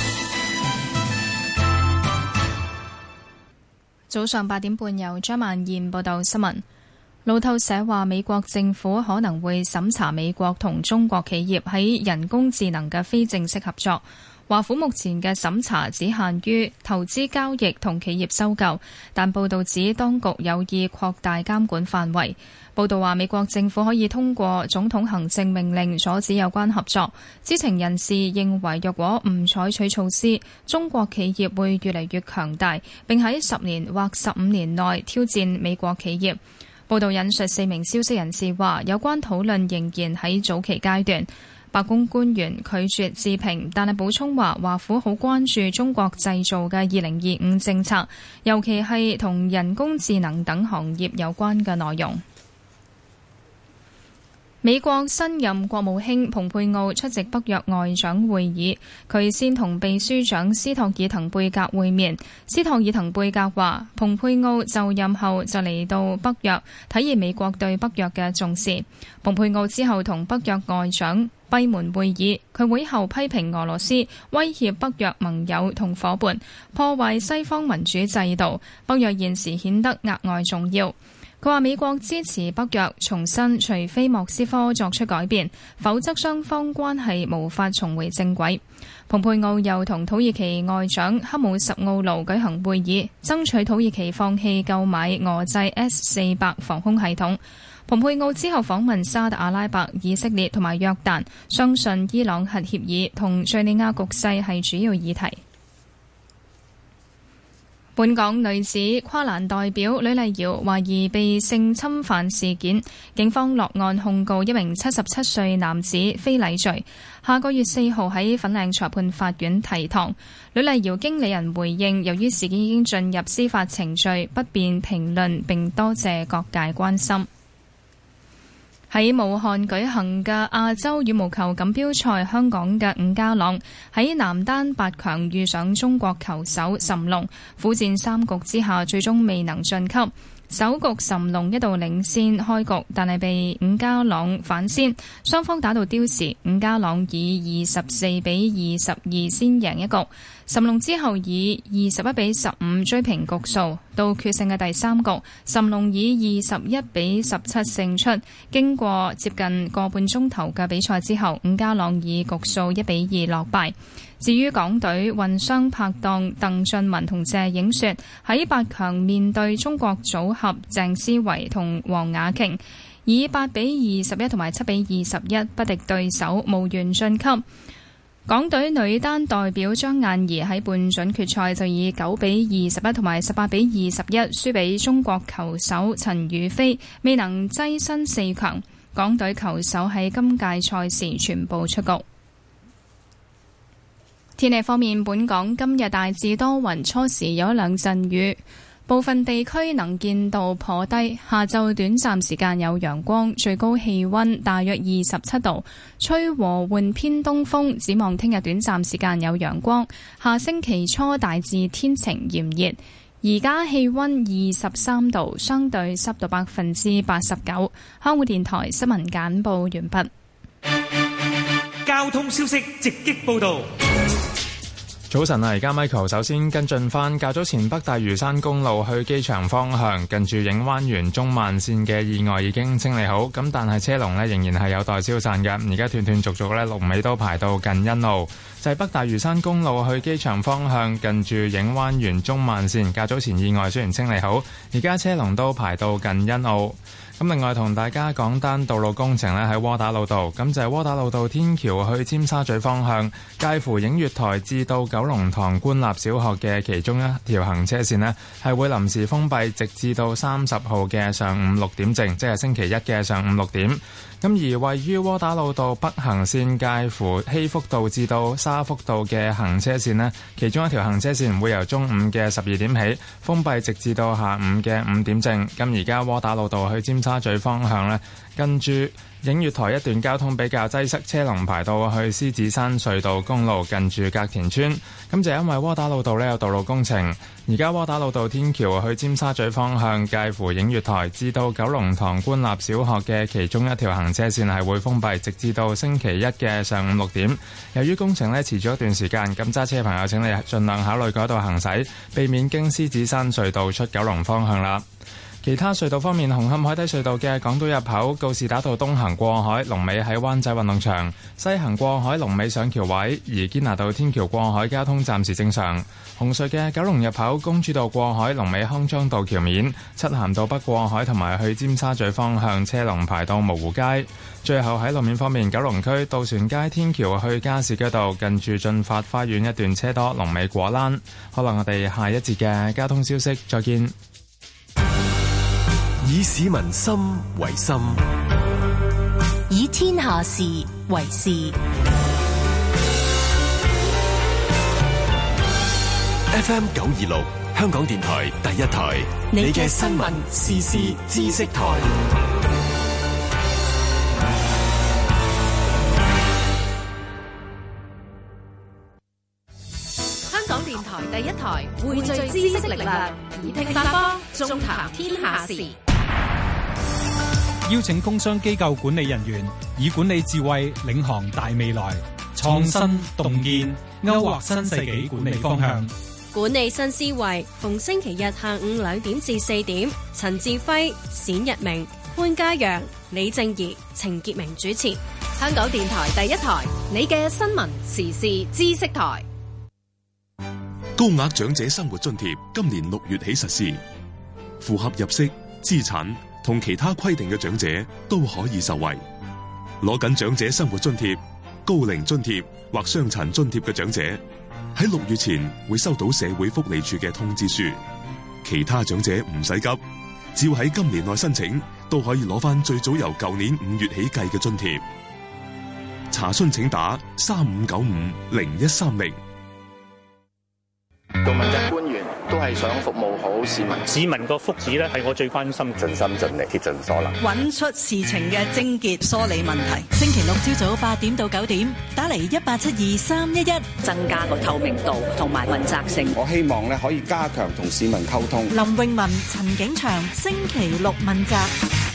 早上8點半，由張曼燕報道新聞。路透社話，美國政府可能會審查美國同中國企業喺人工智能嘅非正式合作。華府目前嘅審查只限於投資交易同企業收購，但報道指當局有意擴大監管範圍。報道話，美國政府可以通過總統行政命令阻止有關合作。知情人士認為，若果唔採取措施，中國企業會越嚟越強大，並喺10年或15年內挑戰美國企業。報道引述4名消息人士話，有關討論仍然喺早期階段。白宮官員拒絕置評，但係補充話，華府好關注中國製造嘅2025政策，尤其係同人工智能等行業有關嘅內容。美國新任國務卿蓬佩奧出席北約外長會議，佢先同秘書長斯托爾滕貝格會面。斯托爾滕貝格話，蓬佩奧就任後就嚟到北約，體現美國對北約嘅重視。蓬佩奧之後同北約外長閉門會議，佢會後批評俄羅斯威脅北約盟友同夥伴，破壞西方民主制度，北約現時顯得額外重要。佢話美國支持北約，重申除非莫斯科作出改變，否則雙方關係無法重回正軌。蓬佩奧又同土耳其外長黑姆什奧盧舉行會議，爭取土耳其放棄購買俄製 S-400 防空系統。蓬佩奧之後訪問沙特阿拉伯、以色列同埋約旦，相信伊朗核協議同敘利亞局勢係主要議題。本港女子跨欄代表呂麗瑤懷疑被性侵犯事件，警方落案控告一名77歲男子非禮罪，下個月4號喺粉嶺裁判法院提堂。呂麗瑤經理人回應，由於事件已經進入司法程序，不便評論，並多謝各界關心。喺武漢舉行嘅亞洲羽毛球錦標賽，香港嘅伍家朗喺男單8強遇上中國球手諶龍，苦戰3局之下，最終未能晉級。首局諶龍一度領先開局，但係被伍家朗反先，雙方打到刁時，伍家朗以24-22先贏一局。諶龍之後以21-15追平局數，到決勝嘅第3局，諶龍以21-17勝出。經過接近個半鐘頭嘅比賽之後，伍家朗以局數1-2落敗。至於港隊混雙拍檔鄧俊文同謝影雪喺8強面對中國組合鄭思維同黃雅瓊，以8-21同埋7-21不敵對手，無緣晉級。港隊女單代表張雁儀喺半準決賽就以9-21同埋18-21輸俾中國球手陳雨菲，未能躋身4強。港隊球手喺今屆賽事全部出局。天氣方面，本港今日大致多雲，初時有一兩陣雨，部分地區能見度頗低。下晝短暫時間有陽光，最高氣溫大約27度，吹和緩偏東風。展望聽日短暫時間有陽光，下星期初大致天晴炎熱。而家氣溫23度，相對濕度89%。香港電台新聞簡報完畢。 交通消息直擊報道。 早晨啊，而家 Michael 首先跟進翻，較早前北大嶼山公路去機場方向近住影灣園中慢線嘅意外已經清理好，咁但係車龍呢仍然係有待消散嘅，而家斷斷續續呢龍尾都排到近欣澳。就係北大嶼山公路去機場方向近住影灣園中慢線，較早前意外雖然清理好，而家車龍都排到近欣澳。 咁另外同大家講單道路工程呢，喺窩打老道，咁就係窩打老道天橋去尖沙咀方向，介乎映月台至到九龍塘官立小學嘅其中一條行車線呢，係會臨時封閉，直至到30號嘅上午6點正，即係星期一嘅上午6點。咁而位於窩打老道北行線介乎禧福道至到沙福道嘅行車線呢，其中一條行車線會由中午嘅12點起封閉，直至到下午嘅5點正。咁而家窩打老道去尖沙咀方向呢，跟住映月台一段交通比較擠塞，車龍排到去獅子山隧道公路近住隔田村。咁就因為窩打老道呢有道路工程，而家窩打老道天橋去尖沙咀方向介乎映月台至到九龍塘官立小學嘅其中一條行車線係會封閉，直至到星期一嘅上午6點。由於工程呢持續一段時間，咁揸車朋友請你盡量考慮改道行駛，避免經獅子山隧道出九龍方向啦。其他隧道方面，紅磡海底隧道嘅港島入口告士打道東行過海，龍尾喺灣仔運動場；西行過海，龍尾上橋位。而堅拿道天橋過海交通暫時正常。紅隧嘅九龍入口公主道過海，龍尾康莊道橋面；漆咸道北過海同埋去尖沙咀方向車龍排到蕪湖街。最後喺路面方面，九龍區渡船街天橋去加士居道近住進發花園一段車多，龍尾果欄。可能我哋下一節嘅交通消息再見。 以市民心為心， 以天下事為事。 FM 926，香港電台第一台，你嘅新聞時事知識台。 香港電台第一台，匯聚知識力量，耳聽八方，縱談天下事。 邀請工商機構管理人員以管理智慧領航大未來，創新洞見，勾畫新世紀管理方向。 管理新思維，逢星期日下午2點至4點，陳志輝、冼日明、潘嘉陽、李正儀、程潔明主持。 香港電台第一台，你嘅新聞時事知識台。 高額長者生活津貼今年6月起實施，符合入息、資產同其他規定嘅長者都可以受惠。攞緊長者生活津貼、高齡津貼或傷殘津貼嘅長者，喺6月前會收到社會福利署嘅通知書。其他長者唔使急，只要喺今年內申請，都可以攞翻最早由舊年5月起計嘅津貼。查詢請打35950130。 做問責官員都係想服務好市民， 市民個福祉咧係我最關心， 盡心盡力，竭盡所能， 揾出事情嘅症結，梳理問題。星期六朝早8點到9點，打嚟1872-311， 增加個透明度同埋問責性。 我希望咧可以加強同市民溝通。 林詠雯、陳景祥，星期六問責。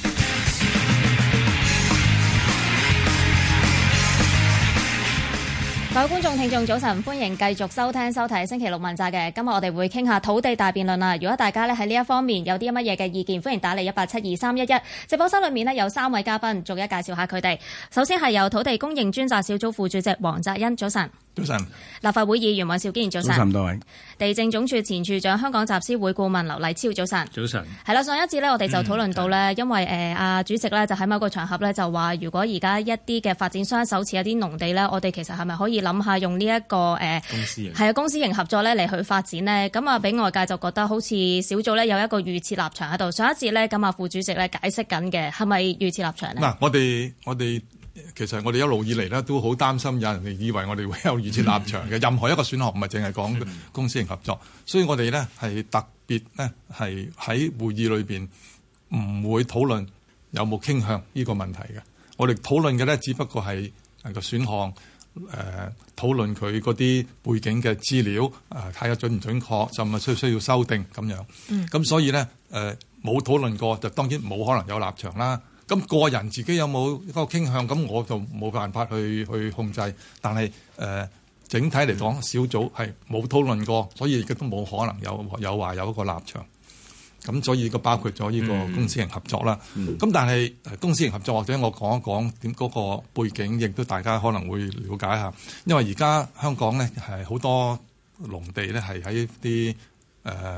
各位觀眾聽眾早晨，歡迎繼續收聽收睇星期六問責嘅。今日我哋會傾下土地大辯論啦。如果大家咧喺呢一方面有啲乜嘢嘅意見，歡迎打嚟1872-311。直播室裏面咧有3位嘉賓，逐一介紹下佢哋。首先係由土地供應專責小組副主席黃澤恩，早晨。 早晨。 立法會議員尹兆堅，早晨。 早晨，多位。 地政總署前署長、香港集思會顧問劉勵超，早晨。 早晨。 係啦，上一節咧我哋就討論到咧，因為阿主席咧就喺某個場合咧就話，如果而家一啲嘅發展商手持一啲農地咧，我哋其實係咪可以諗下用呢一個公私營合作咧嚟去發展呢？咁啊，俾外界就覺得好似小組咧有一個預設立場喺度。上一節咧咁啊，副主席咧解釋緊嘅係咪預設立場呢？ 嗱，我哋其實我哋一路以嚟咧都好擔心有人哋以為我哋會有預設立場嘅。任何一個選項唔係淨係講公私營合作，所以我哋咧係特別咧係喺會議裏邊唔會討論有冇傾向呢個問題嘅。我哋討論嘅咧只不過係個選項。討論佢嗰啲背景嘅資料，睇下準唔準確，甚至需要修訂咁樣。咁所以咧，冇討論過，就當然冇可能有立場啦。咁個人自己有冇一個傾向，咁我就冇辦法去控制。但係整體嚟講，小組係冇討論過，所以亦都冇可能有話有一個立場。咁所以個包括咗呢個公私營合作啦。咁但係公私營合作，或者我講一講點嗰個背景，亦都大家可能會了解下。因為而家香港咧係好多農地咧係喺啲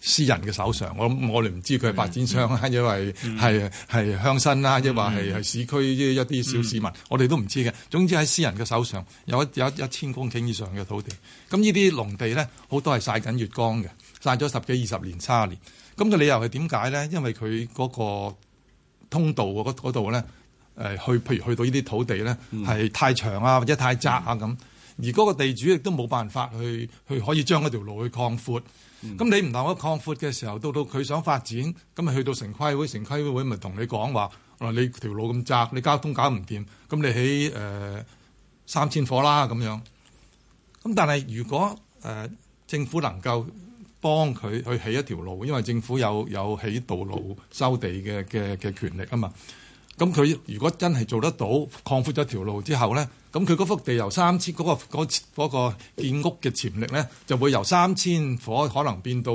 私人嘅手上。我哋唔知佢係發展商啊，因為係鄉紳啦，抑或係市區一啲小市民，我哋都唔知嘅。總之喺私人嘅手上有1000公頃以上嘅土地。咁呢啲農地咧，好多係曬緊月光嘅，曬咗10幾20年、30年。咁嘅理由係點解咧？因為佢嗰個通道嗰度咧，譬如去到呢啲土地咧，係太長啊，或者太窄啊咁。而嗰個地主亦都冇辦法去可以將嗰條路去擴闊。咁你唔能夠擴闊嘅時候，到佢想發展，咁咪去到城規會，城規會咪同你講話，你條路咁窄，你交通搞唔掂，咁你起3000伙啦咁樣。咁但係如果政府能夠幫佢去起一條路，因為政府有起道路收地嘅權力啊嘛。咁佢如果真係做得到擴闊咗條路之後咧，咁佢嗰幅地由3000嗰個建屋嘅潛力咧，就會由3000伙可能變到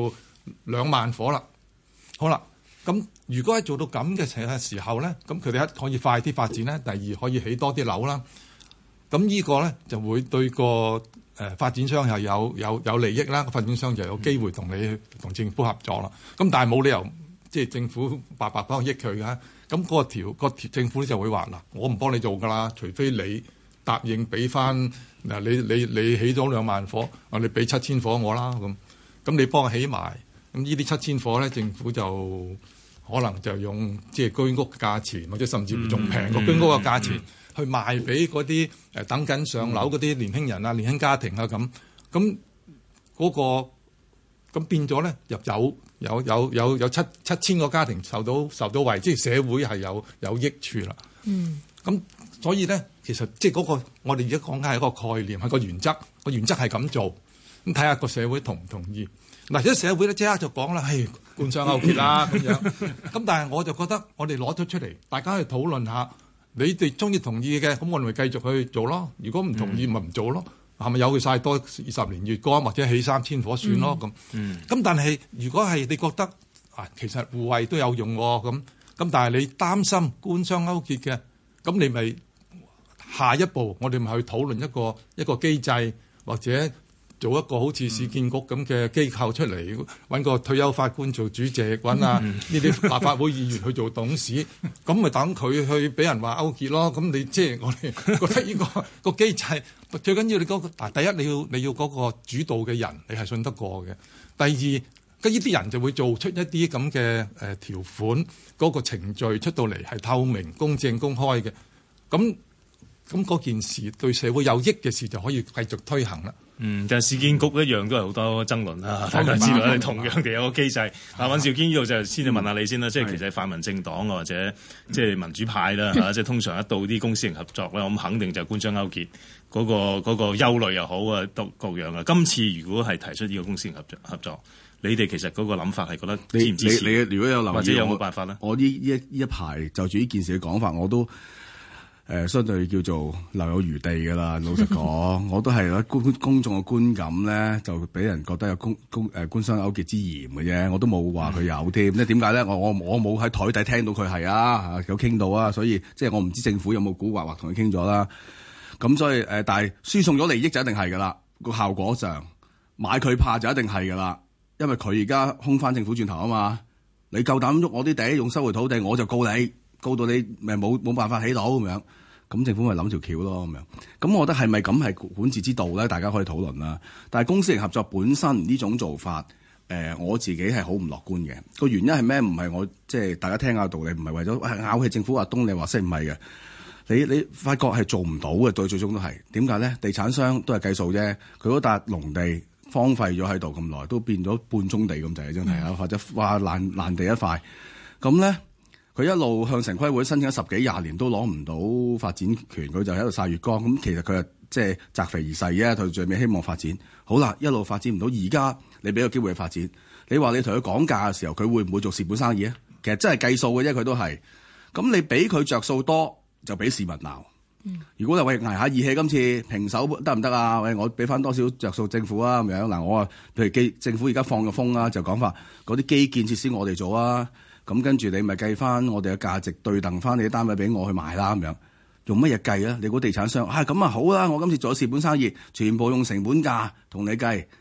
2萬伙啦。好啦，咁如果係做到咁嘅時候咧，咁佢哋可以快啲發展咧，第二可以起多啲樓啦。咁呢個咧就會對個發展商係有利益啦，發展商就有機會同政府合作啦。咁但係冇理由即係政府白幫益佢㗎。咁嗰個政府咧就會話嗱，我唔幫你做㗎啦，除非你答應俾翻嗱，你起咗2萬伙，你俾7000伙我啦咁你幫我起埋，咁呢啲7000伙咧，政府就可能就用即係居屋嘅價錢，或者甚至乎仲平過居屋嘅價錢去賣俾嗰啲等緊上樓嗰啲年輕人啊、年輕家庭啊咁嗰個咁變咗咧入有7000個家庭受到惠，即係社會係有益處啦。咁所以咧，其實即係嗰個我哋而家講緊係一個概念，係個原則，個原則係咁做。咁睇下個社會同唔同意。嗱，而家社會咧即刻就講啦，係官商勾結啦咁樣。咁但係我就覺得我哋攞咗出嚟，大家去討論下，你哋中意同意嘅，咁我哋咪繼續去做咯。如果唔同意，咪唔做咯。係咪有佢曬多20年月光，或者起3000伙算咯咁？咁但係如果係你覺得其實互惠都有用咁，但係你擔心官商勾結嘅，咁你咪下一步我哋咪去討論一個機制，或者做一個好似市建局咁嘅機構出嚟，揾個退休法官做主席，揾呢啲立法會議員去做董事，咁咪等佢去俾人話勾結咯。咁你即係我哋覺得呢個機制最緊要你嗰個第一你要嗰個主導嘅人你係信得過嘅。第二，呢啲人就會做出一啲咁嘅條款，嗰個程序出到嚟係透明、公正、公開嘅。咁嗰件事對社會有益嘅事就可以繼續推行啦。 但係市建局一樣都係好多爭論啦。大家知道同樣嘅有個機制。尹兆堅呢度就先至問下你先啦，即係其實泛民政黨或者即係民主派啦嚇，即係通常一到啲公私營合作咧，咁肯定就官商勾結嗰個憂慮又好啊，各樣啊。今次如果係提出呢個公私營合作，你哋其實嗰個諗法係覺得支唔支持？ 你如果有留意， 或者有冇辦法咧？ 我呢一排就住呢件事嘅講法，我都相對叫做留有餘地㗎啦。老實講，我都係公眾嘅觀感咧，就俾人覺得有官商勾結之嫌嘅啫。我都冇話佢有添。即係點解咧？我冇喺台底聽到佢係有傾到啊，所以即係我唔知政府有冇蠱惑或同佢傾咗啦。咁所以但係輸送咗利益就一定係㗎啦。個效果上買佢怕就一定係㗎啦，因為佢而家空翻政府轉頭啊嘛。你夠膽喐我啲地用收回土地，我就告你，告到你咪冇辦法起到咁樣。咁政府咪諗條橋咯咁樣。咁我覺得係咪咁係管治之道咧？大家可以討論啦。但係公私營合作本身呢種做法，我自己係好唔樂觀嘅。個原因係咩？唔係我即係大家聽下道理，唔係為咗拗起政府話東你話西，唔係嘅。你發覺係做唔到嘅，對最終都係點解咧？地產商都係計數啫。佢嗰笪農地荒廢咗喺度咁耐，都變咗半宗地咁滯，真係啊！或者話爛地一塊咁咧。佢一路向城規會申請咗10幾20年都攞唔到發展權，佢就喺度曬月光。咁其實佢係即係擇肥而噬啫，佢最尾希望發展。好啦，一路發展唔到，而家你俾個機會去發展，你話你同佢講價嘅時候，佢會唔會做蝕本生意啊？其實真係計數嘅啫，佢都係。咁你俾佢着數多，就俾市民鬧。如果你話捱下義氣，今次平手得唔得啊？喂，我俾翻多少着數政府啊？咁樣嗱，我話譬如政府而家放個風啊，就講法嗰啲基建設施我哋做啊。咁跟住你咪計翻我哋嘅價值對等翻你啲單位俾我去賣啦咁樣，用乜嘢計啊？你估地產商咁啊好啦，我今次做咗蝕本生意，全部用成本價同你計，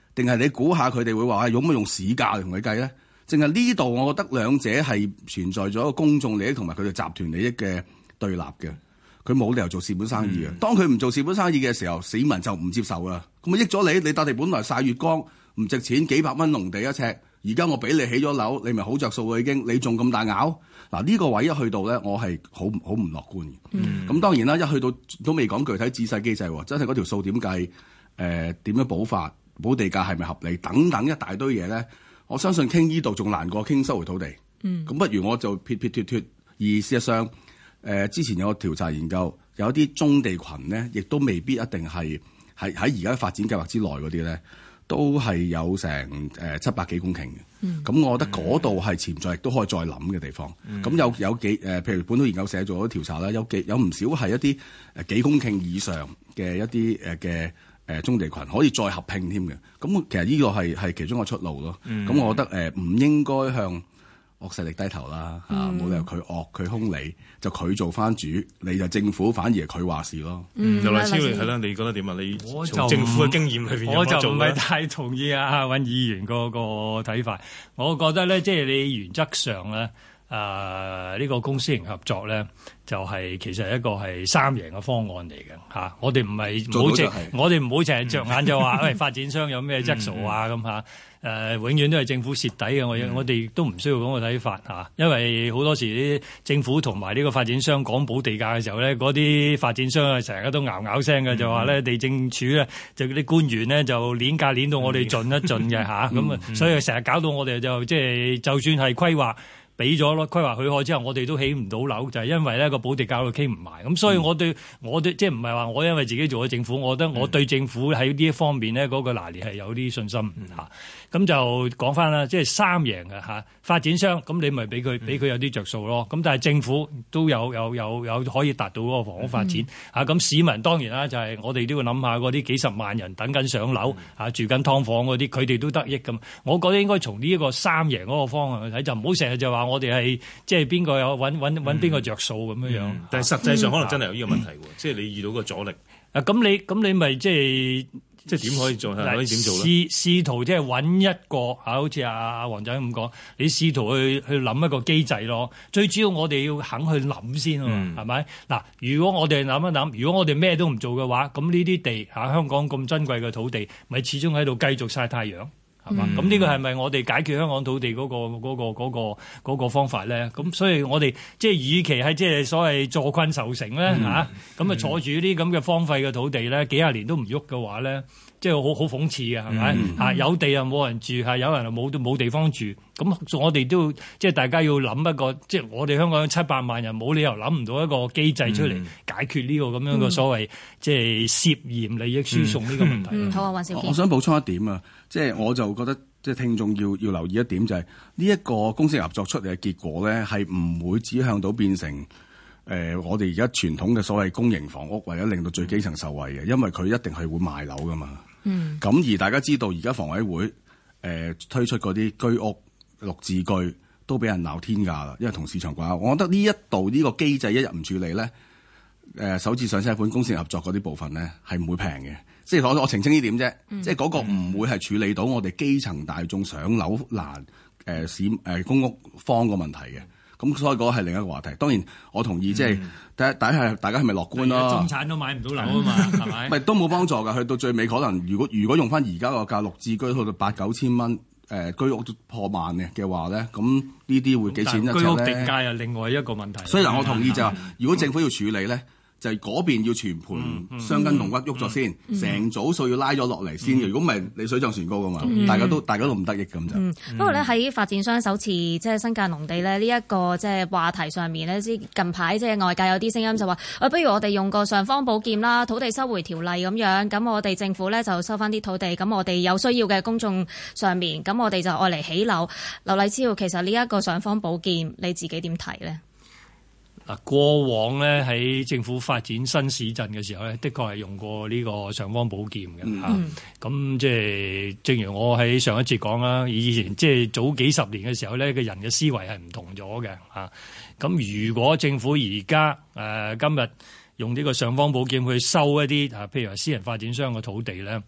定係你估下佢哋會話用乜用市價嚟同佢計咧？淨係呢度，我覺得兩者係存在咗一個公眾利益同埋佢哋集團利益嘅對立嘅。佢冇理由做蝕本生意嘅。當佢唔做蝕本生意嘅時候，市民就唔接受啦。咁啊益咗你笪地本來曬月光唔值錢，幾百蚊農地一尺，而家我俾你起咗樓，你咪好着數喎已經。你仲咁大咬嗱？呢個位一去到咧，我係好唔樂觀嘅。咁當然啦，一去到都未講具體仔細機制喎，真係嗰條數點計？點樣補法？補地價係咪合理？等等一大堆嘢咧。我相信傾呢度仲難過傾收回土地。咁不如我就撇脫。而事實上，之前有個調查研究，有一啲棕地群咧，亦都未必一定係喺而家發展計劃之內嗰啲咧，都係有成700幾公頃嘅。咁我覺得嗰度係潛在亦都可以再諗嘅地方。咁有幾譬如本土研究社做咗調查啦，有唔少係一啲幾公頃以上嘅一啲嘅。棕地群可以再合併添嘅，咁其實呢個係其中一個出路咯。咁我覺得唔應該向惡勢力低頭啦，冇理由佢惡佢兇你，就佢做翻主，你就政府反而係佢話事咯。 劉勵超係啦，你覺得點啊？你從政府嘅經驗裏邊有冇做咧？ 我就唔係太同意阿尹議員個睇法。我覺得咧，即係你原則上咧。呢個公私營合作咧，就係其實係一個係三贏嘅方案嚟嘅嚇。我哋唔好淨係着眼就話，喂發展商有咩質素啊咁嚇。永遠都係政府蝕底嘅。我哋都唔需要咁嘅睇法嚇，因為好多時啲政府同埋呢個發展商講補地價嘅時候咧，嗰啲發展商啊成日都咬聲嘅，就話咧地政署咧就啲官員咧就攣價攣到我哋盡一盡嘅嚇。咁所以成日搞到我哋就即係就算係規劃。俾咗咯，規劃許可之後，我哋都起唔到樓，就係因為咧個補地價都傾唔埋。咁所以我對即係唔係話我因為自己做咗政府，我覺得我對政府喺呢一方面咧嗰個拿捏係有啲信心嚇。咁就講翻啦，即係三贏嘅嚇。發展商咁你咪俾佢有啲着數咯。咁但係政府都有可以達到嗰個房屋發展嚇。咁市民當然啦，就係我哋都要諗下嗰啲幾十萬人等緊上樓嚇，住緊劏房嗰啲，佢哋都得益咁。我覺得應該從呢一個三贏嗰個方向去睇，就唔好成日就話我哋係即係邊個有揾邊個着數咁樣樣。 但係實際上可能真係有呢個問題喎，即係你遇到個阻力。 咁你咪即係點可以做？可以點做咧？試圖即係揾一個好似阿黃仔咁講，你試圖去諗一個機制咯。最主要我哋要肯去諗先啊嘛，係咪？嗱，如果我哋諗一諗，如果我哋咩都唔做嘅話，咁呢啲地香港咁珍貴嘅土地，咪始終喺度繼續曬太陽。係嘛？咁呢個係咪我哋解決香港土地嗰個方法咧？咁所以我哋即係與其係即係所謂坐困愁城咧嚇，咁坐住啲咁嘅荒廢嘅土地咧，幾廿年都唔喐嘅話咧，即係好諷刺嘅係咪？嚇有地又冇人住，係有人又冇地方住。咁我哋都即係大家要諗一個，即係我哋香港有700萬人，冇理由諗唔到一個機制出嚟解決呢個咁樣嘅所謂即係涉嫌利益輸送呢個問題。 好啊，尹兆堅。 我想補充一點啊，即係我就覺得即係聽眾要留意一點，就係呢一個公私合作出嚟嘅結果咧，係唔會指向到變成我哋而家傳統嘅所謂公營房屋，或者令到最基層受惠嘅，因為佢一定係會賣樓噶嘛。咁而大家知道而家房委會推出嗰啲居屋綠置居都俾人鬧天價啦，因為同市場掛鈎。我覺得呢一度呢個機制一日唔處理咧，首次上車盤公私合作嗰啲部分咧係唔會平嘅。即係我澄清呢點啫，即係嗰個唔會係處理到我哋基層大眾上樓難公屋荒個問題嘅。咁所以嗰個係另一個話題。當然我同意，即係第一係大家係咪樂觀咯？ 中產都買唔到樓啊嘛，係咪？ 咪都冇幫助㗎。去到最尾可能如果用翻而家個價綠置居去到8-9千蚊。居屋都破萬嘅話咧，咁呢啲會幾錢一尺咧？居屋定價又另外一個問題。所以嗱，我同意就係，如果政府要處理咧，就係嗰邊要全盤傷筋動骨喐咗先，成組數要拉咗落嚟先。如果唔係，你水漲船高噶嘛，大家都唔得益咁就。 不過咧喺發展商首次即係新界農地咧呢一個即係話題上面咧，近排即係外界有啲聲音就話，不如我哋用個尚方寶劍啦，土地收回條例咁樣，咁我哋政府咧就收翻啲土地，咁我哋有需要嘅公眾上面，咁我哋就愛嚟起樓。劉勵超，其實呢一個尚方寶劍，你自己點睇咧？ 過往咧喺政府發展新市鎮嘅時候咧，的確係用過呢個尚方寶劍嘅嚇。咁即係正如我喺上一節講啦，以前即係早幾十年嘅時候咧，個人嘅思維係唔同咗嘅嚇。咁如果政府而家今日用呢個尚方寶劍去收一啲譬如話私人發展商嘅土地咧，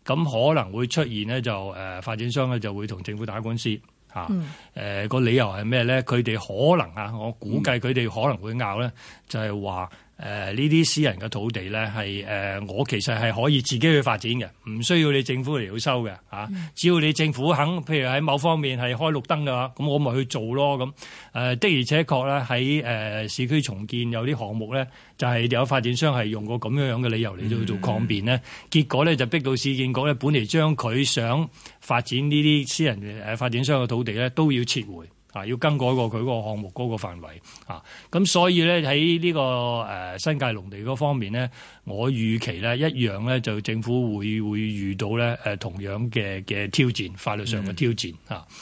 咁可能會出現咧就發展商咧就會同政府打官司嚇。個理由係咩咧？佢哋可能我估計佢哋可能會拗咧，就係話呢啲私人嘅土地咧係我其實係可以自己去發展嘅，唔需要你政府嚟到收嘅嚇。只要你政府肯，譬如喺某方面係開綠燈嘅話，咁我咪去做咯咁。的而且確咧喺市區重建有啲項目咧，就係有發展商係用過咁樣嘅理由嚟到做抗辯咧，結果咧就逼到市建局咧本嚟將佢想發展呢啲私人發展商嘅土地咧都要撤回。要更改過佢嗰個項目嗰個範圍咁所以咧喺呢個新界農地嗰方面咧，我預期咧一樣咧就政府會遇到咧同樣嘅挑戰，法律上嘅挑戰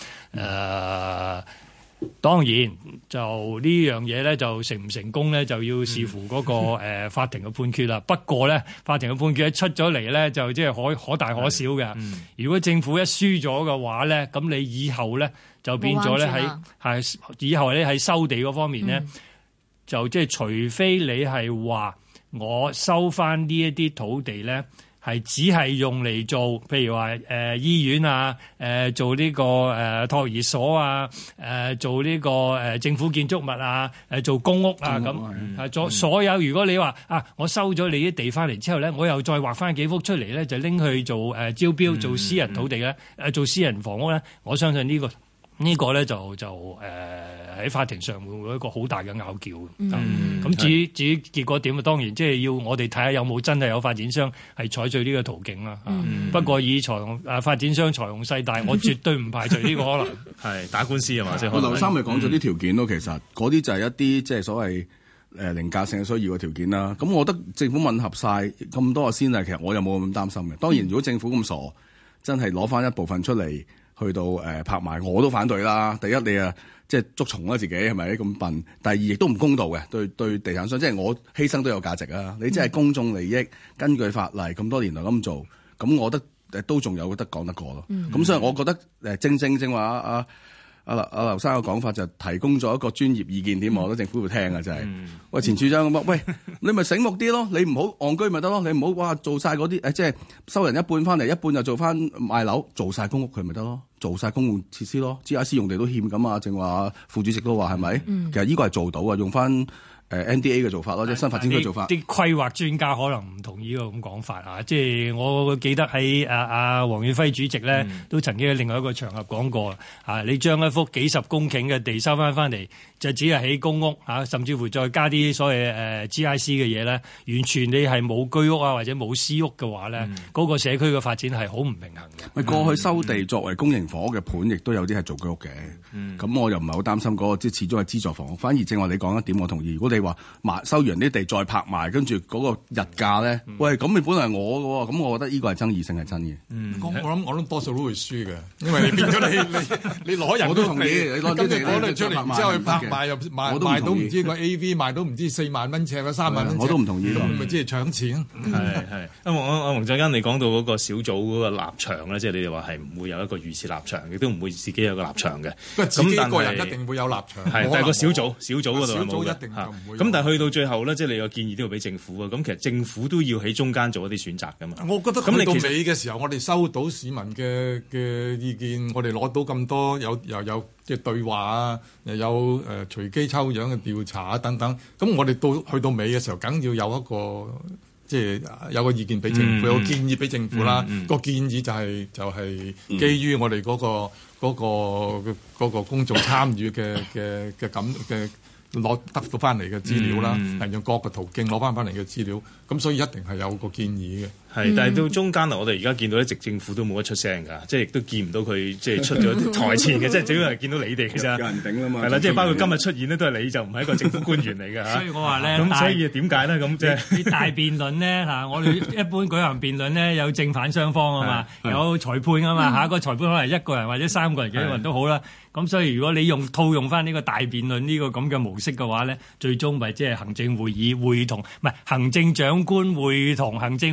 當然就呢樣嘢咧就成唔成功咧就要視乎嗰個法庭嘅判決啦。不過咧法庭嘅判決一出咗嚟咧就即係可大可小嘅。如果政府一輸咗嘅話咧，咁你以後咧就變咗咧以後咧喺收地嗰方面咧，就即係除非你係話我收翻呢一啲土地咧。係只係用嚟做，譬如話醫院啊，做呢個托兒所啊，做呢個政府建築物啊，做公屋啊咁，所有如果你話我收咗你啲地翻嚟之後咧，我又再劃翻幾幅出嚟咧，就拎去做招標，做私人土地咧，做私人房屋咧，我相信呢個咧就喺法庭上會有一個好大嘅拗撬。咁至於結果點啊？當然即係要我哋睇下有冇真係有發展商係採取呢個途徑啦。不過以發展商財雄勢大，我絕對唔排除呢個可能。 係打官司啊嘛，即係劉生咪講咗啲條件咯。其實嗰啲就係一啲即係所謂凌駕性嘅需要嘅條件啦。咁我覺得政府吻合晒咁多個先例，其實我又冇咁擔心嘅。當然，如果政府咁傻，真係攞翻一部分出嚟。去到拍賣，我都反對啦。第一，你即係捉蟲啦，自己係咪咁笨？第二，亦都唔公道嘅，對地產商，即係我犧牲都有價值啊！你即係公眾利益，根據法例咁多年來咁做，咁我覺得都仲有得講得過咯。咁所以我覺得正話阿劉生嘅講法就提供咗一個專業意見點，我覺得政府會聽啊，就係喂前處長咁喂，你咪醒目啲咯，你唔好戇居咪得咯，你唔好做晒嗰啲即係收人一半翻嚟，一半就做翻賣樓，做晒公屋佢咪得咯，做晒公共設施咯 ，GIC 用地都欠咁啊，正話副主席都話係咪？其實呢個係做到啊，用翻NDA 嘅做法咯，即係新發展區做法。啲規劃專家可能唔同意呢個咁講法啊！即係我記得喺黃遠輝主席咧，都曾經喺另外一個場合講過你將一幅幾十公頃嘅地收翻嚟，就只係起公屋甚至乎再加啲所謂GIC 嘅嘢咧，完全你係冇居屋或者冇私屋嘅話咧，嗰個社區嘅發展係好唔平衡嘅。 過去收地作為公營房屋嘅盤，亦都有啲係做居屋嘅。咁我又唔係好擔心嗰個，即係始終係資助房屋。反而正話你講一點，我同意。如果你話收完啲地再拍賣，跟住嗰個日價咧，喂咁你本來係我嘅喎，咁我覺得呢個係爭議性係真嘅。 我諗多數都會輸嘅，因為你變咗你攞人，我都同意。你攞啲地攞嚟出嚟，然之後去拍賣又賣到唔知個 AV 賣到唔知4萬蚊尺啊3萬蚊尺， 我都唔同意。 咁咪即係搶錢。 係。阿黃振根，你講到嗰個小組嗰個立場咧，即係你哋話係唔會有一個預設立場，亦都唔會自己有個立場嘅。 自己個人一定會有立場。 係，但係個小組嗰度小組一定就唔會。 咁但係去到最後咧，即係你個建議都要俾政府啊。咁其實政府都要喺中間做一啲選擇噶嘛。 我覺得去到尾嘅時候，我哋收到市民嘅意見，我哋攞到咁多又有即係對話啊，又有隨機抽樣嘅調查啊等等。咁我哋去到尾嘅時候，梗要有一個即係有個意見俾政府，有個建議俾政府啦。個建議就係基於我哋嗰個公眾參與嘅咁嘅。攞得到翻嚟嘅資料啦，係用各個途徑攞翻嚟嘅資料，咁所以一定係有個建議嘅。 係，但係到中間我哋而家見到一直政府都冇得出聲㗎，即係亦都見唔到佢即係出咗台前嘅，即係主要係見到你哋嘅啫。有人頂啦嘛。係啦，即係包括今日出現咧，都係你就唔係一個政府官員嚟㗎。 所以我話咧， 咁所以點解咧？咁即係啲大辯論咧我哋一般舉行辯論咧，有正反雙方啊嘛，有裁判啊嘛，下一個裁判可能一個人或者3個人幾個人都好啦。咁所以如果你套用翻呢個大辯論呢個咁嘅模式嘅話咧，最終咪即係行政會議會同唔係行政長官會同行政會議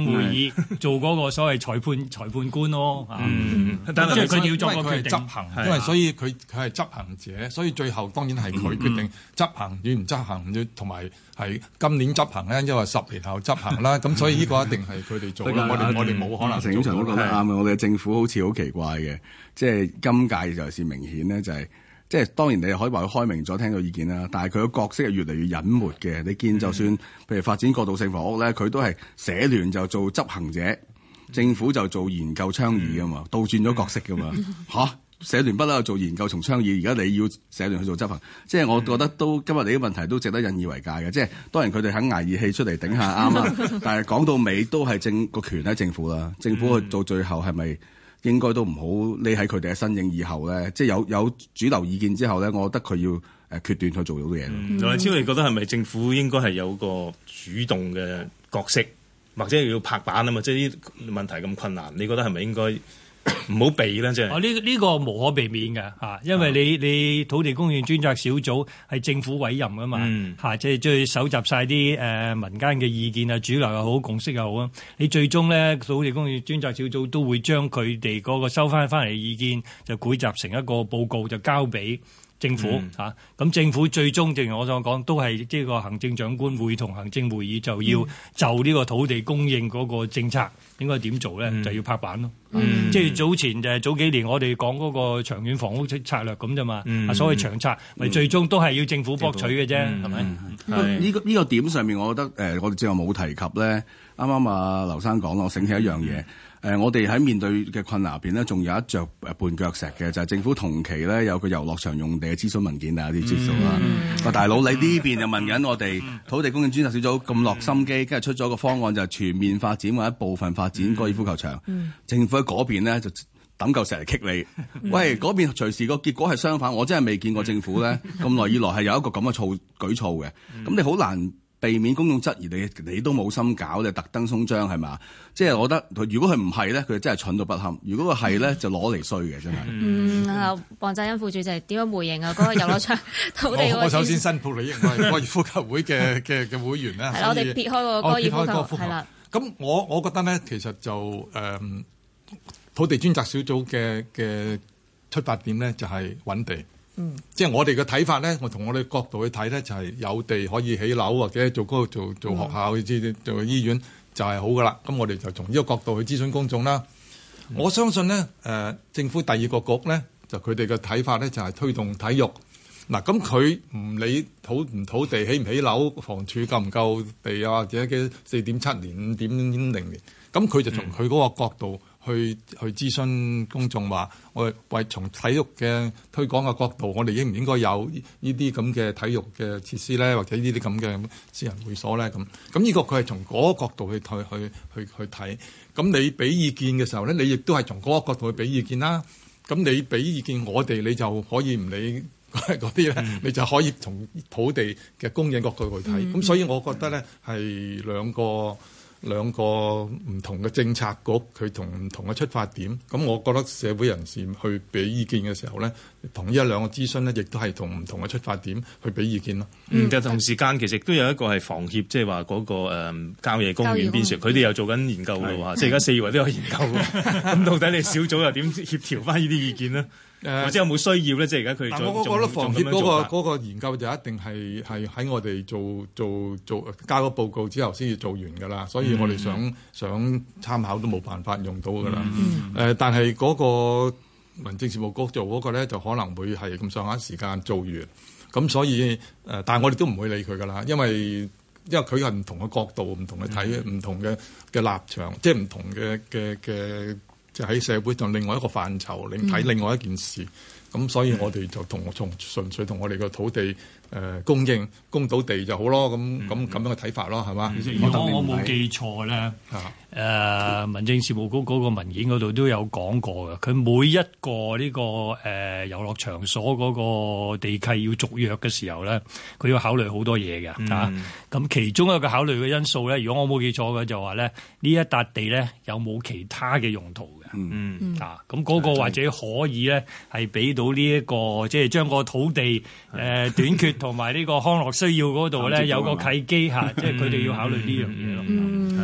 以做嗰個所謂裁判官咯。 但係佢哋要作個決定執行，因為所以佢係執行者，所以最後當然係佢決定執行與唔執行，同埋係今年執行咧，因為10年後執行啦。咁所以呢個一定係佢哋做啦。我哋冇可能。 陳景祥都講得啱嘅，我哋嘅政府好似好奇怪嘅，即係今屆尤其是明顯咧，就係即係當然你可以話佢開明咗，聽到意見啦，但係佢個角色係越嚟越隱沒嘅。你見就算譬如發展過渡性房屋咧，佢都係社聯就做執行者，政府就做研究倡議噶嘛，倒轉咗角色噶嘛嚇。社聯不嬲做研究同倡議，而家你要社聯去做執行，即係我覺得都今日你啲問題都值得引以為戒嘅。即係當然佢哋肯捱義氣出嚟頂下啱啦，但係講到尾都係個權喺政府啦。政府去到最後係咪應該都唔好匿喺佢哋嘅身影以後咧？即係有主流意見之後咧，我覺得佢要決斷去做到啲嘢。 羅超，你覺得係咪政府應該係有個主動嘅角色，或者要拍板啊嘛？即係呢啲問題咁困難，你覺得係咪應該？唔好避啦，即係。 呢個無可避免嘅嚇，因為你土地供應專責小組係政府委任噶嘛嚇，即係去搜集晒啲民間嘅意見啊，主流又好，共識又好啊。你最終咧土地供應專責小組都會將佢哋嗰個收翻嚟嘅意見就匯集成一個報告，就交俾政府嚇，咁政府最終正如我所講，都係即係個行政長官會同行政會議就要就呢個土地供應嗰個政策應該點做咧，就要拍板咯。即係早幾年我哋講嗰個長遠房屋策略咁啫嘛，所謂長策咪最終都係要政府博取嘅啫，係咪？ 呢個點上面，我覺得我哋之後冇提及咧。啱啱阿劉生講，我醒起一樣嘢。我哋喺面對嘅困難入邊咧，仲有一著絆腳石嘅，就係政府同期咧有個遊樂場用地嘅諮詢文件，大家啲知道啦。大佬，你呢邊就問緊我哋土地供應專責小組咁落心機，跟住出咗個方案就係全面發展或者部分發展高爾夫球場。政府喺嗰邊咧就抌嚿石嚟棘你。喂，嗰邊隨時個結果係相反，我真係未見過政府咧咁耐以來係有一個咁嘅舉措嘅。咁你好難避免公眾質疑你都冇心搞，你特登鬆張係嘛？即係我覺得，如果佢唔係咧，佢真係蠢到不堪；如果佢係咧，就攞嚟衰嘅，真係。 黃澤恩副主席點樣回應啊？嗰個遊樂場土地我首先申報利益，我係高爾夫球會嘅會員啦。 係啦，我哋撇開個高爾夫球係啦。 咁我覺得咧，其實就土地專責小組嘅出發點咧，就係揾地。即係我哋嘅睇法咧，我從我哋角度去睇咧，就係有地可以起樓或者做嗰個做學校、做醫院就係好噶啦。咁我哋就從呢個角度去諮詢公眾啦。我相信咧，政府第二個局咧，就佢哋嘅睇法咧，就係推動體育。嗱，咁佢唔理土地起唔起樓，房署夠唔夠地啊，或者嘅4.7年、5.0年，咁佢就從佢嗰個角度去諮詢公眾話，我哋為從體育嘅推廣嘅角度，我哋應唔應該有呢啲咁嘅體育嘅設施咧，或者呢啲咁嘅私人會所咧？咁呢個佢係從嗰個角度去睇。咁你俾意見嘅時候咧，你亦都係從嗰個角度去俾意見啦。咁你俾意見我哋，你就可以唔理嗰啲咧，你就可以從土地嘅供應角度去睇。咁所以我覺得咧係兩個唔同嘅政策局，佢同唔同嘅出發點。咁我覺得社會人士去俾意見嘅時候咧，同呢一兩個諮詢咧，亦都係同唔同嘅出發點去俾意見咯。 但同時間其實都有一個係房協，即係話嗰個郊野公園邊處，佢哋又做緊研究嘅喎。即係而家4位都有研究嘅。咁到底你小組又點協調翻呢啲意見呢？或者有冇需要咧？即係而家佢我覺得房協嗰個研究就一定係喺我哋做交咗報告之後先至做完㗎啦，所以我哋想參考都冇辦法用到㗎啦。但係嗰個民政事務局做嗰個咧，就可能會係咁上下時間做完，咁所以但係我哋都唔會理佢㗎啦，因為佢係唔同嘅角度、唔同嘅睇、唔同嘅立場，即係唔同嘅。就喺社會上另外一個範疇，睇另外一件事，咁所以我哋就純粹同我哋個土地供應供到地就好咯，咁樣嘅睇法咯，係嘛？ 如果我冇記錯咧，民政事務局嗰個文件嗰度都有講過嘅，佢每一個呢個遊樂場所嗰個地契要續約嘅時候咧，佢要考慮好多嘢嘅嚇。咁其中一個考慮嘅因素咧，如果我冇記錯嘅就話咧，呢一笪地咧有冇其他嘅用途嘅？咁嗰個或者可以咧係俾到呢一個即係將個土地短缺同埋呢個康樂需要嗰度咧有個契機嚇，即係佢哋要考慮呢樣嘢咯。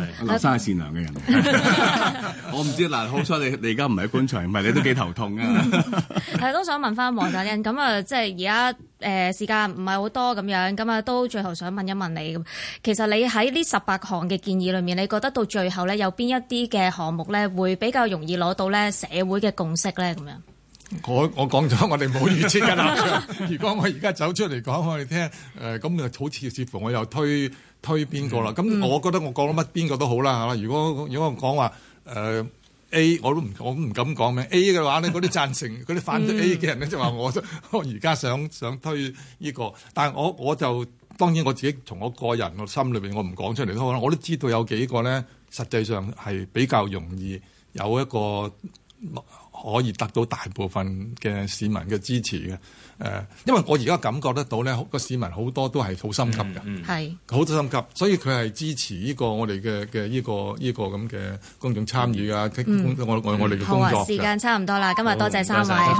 劉生係善良嘅人，我唔知嗱，好彩你而家唔喺棺材，唔係你都幾頭痛啊！ 係都想問翻黃大恩，咁啊，即係而家時間唔係好多咁樣，咁啊都最後想問一問你咁，其實你喺呢18項嘅建議裏面，你覺得到最後咧有邊一啲嘅項目咧會比較容易攞到咧社會嘅共識咧咁樣？ 我講咗，我哋冇預設嘅立場。如果我而家走出嚟講我哋聽，咁就好似乎我又推邊個啦？咁我覺得我講乜邊個都好啦嚇。如果我講話A， 我都唔敢講咩 A 嘅話咧，嗰啲贊成嗰啲反對 A 嘅人咧就話我而家想推呢個，但係我就當然我自己從我個人個心裏邊我唔講出嚟都好啦。我都知道有幾個咧，實際上係比較容易有一個可以得到大部分嘅市民嘅支持嘅。因為我而家感覺得到咧，個市民好多都係好心急嘅，係好心急，所以佢係支持呢個我哋嘅呢個咁嘅公眾參與啊，我哋嘅工作。 好啊，時間差唔多啦，今日多謝3位。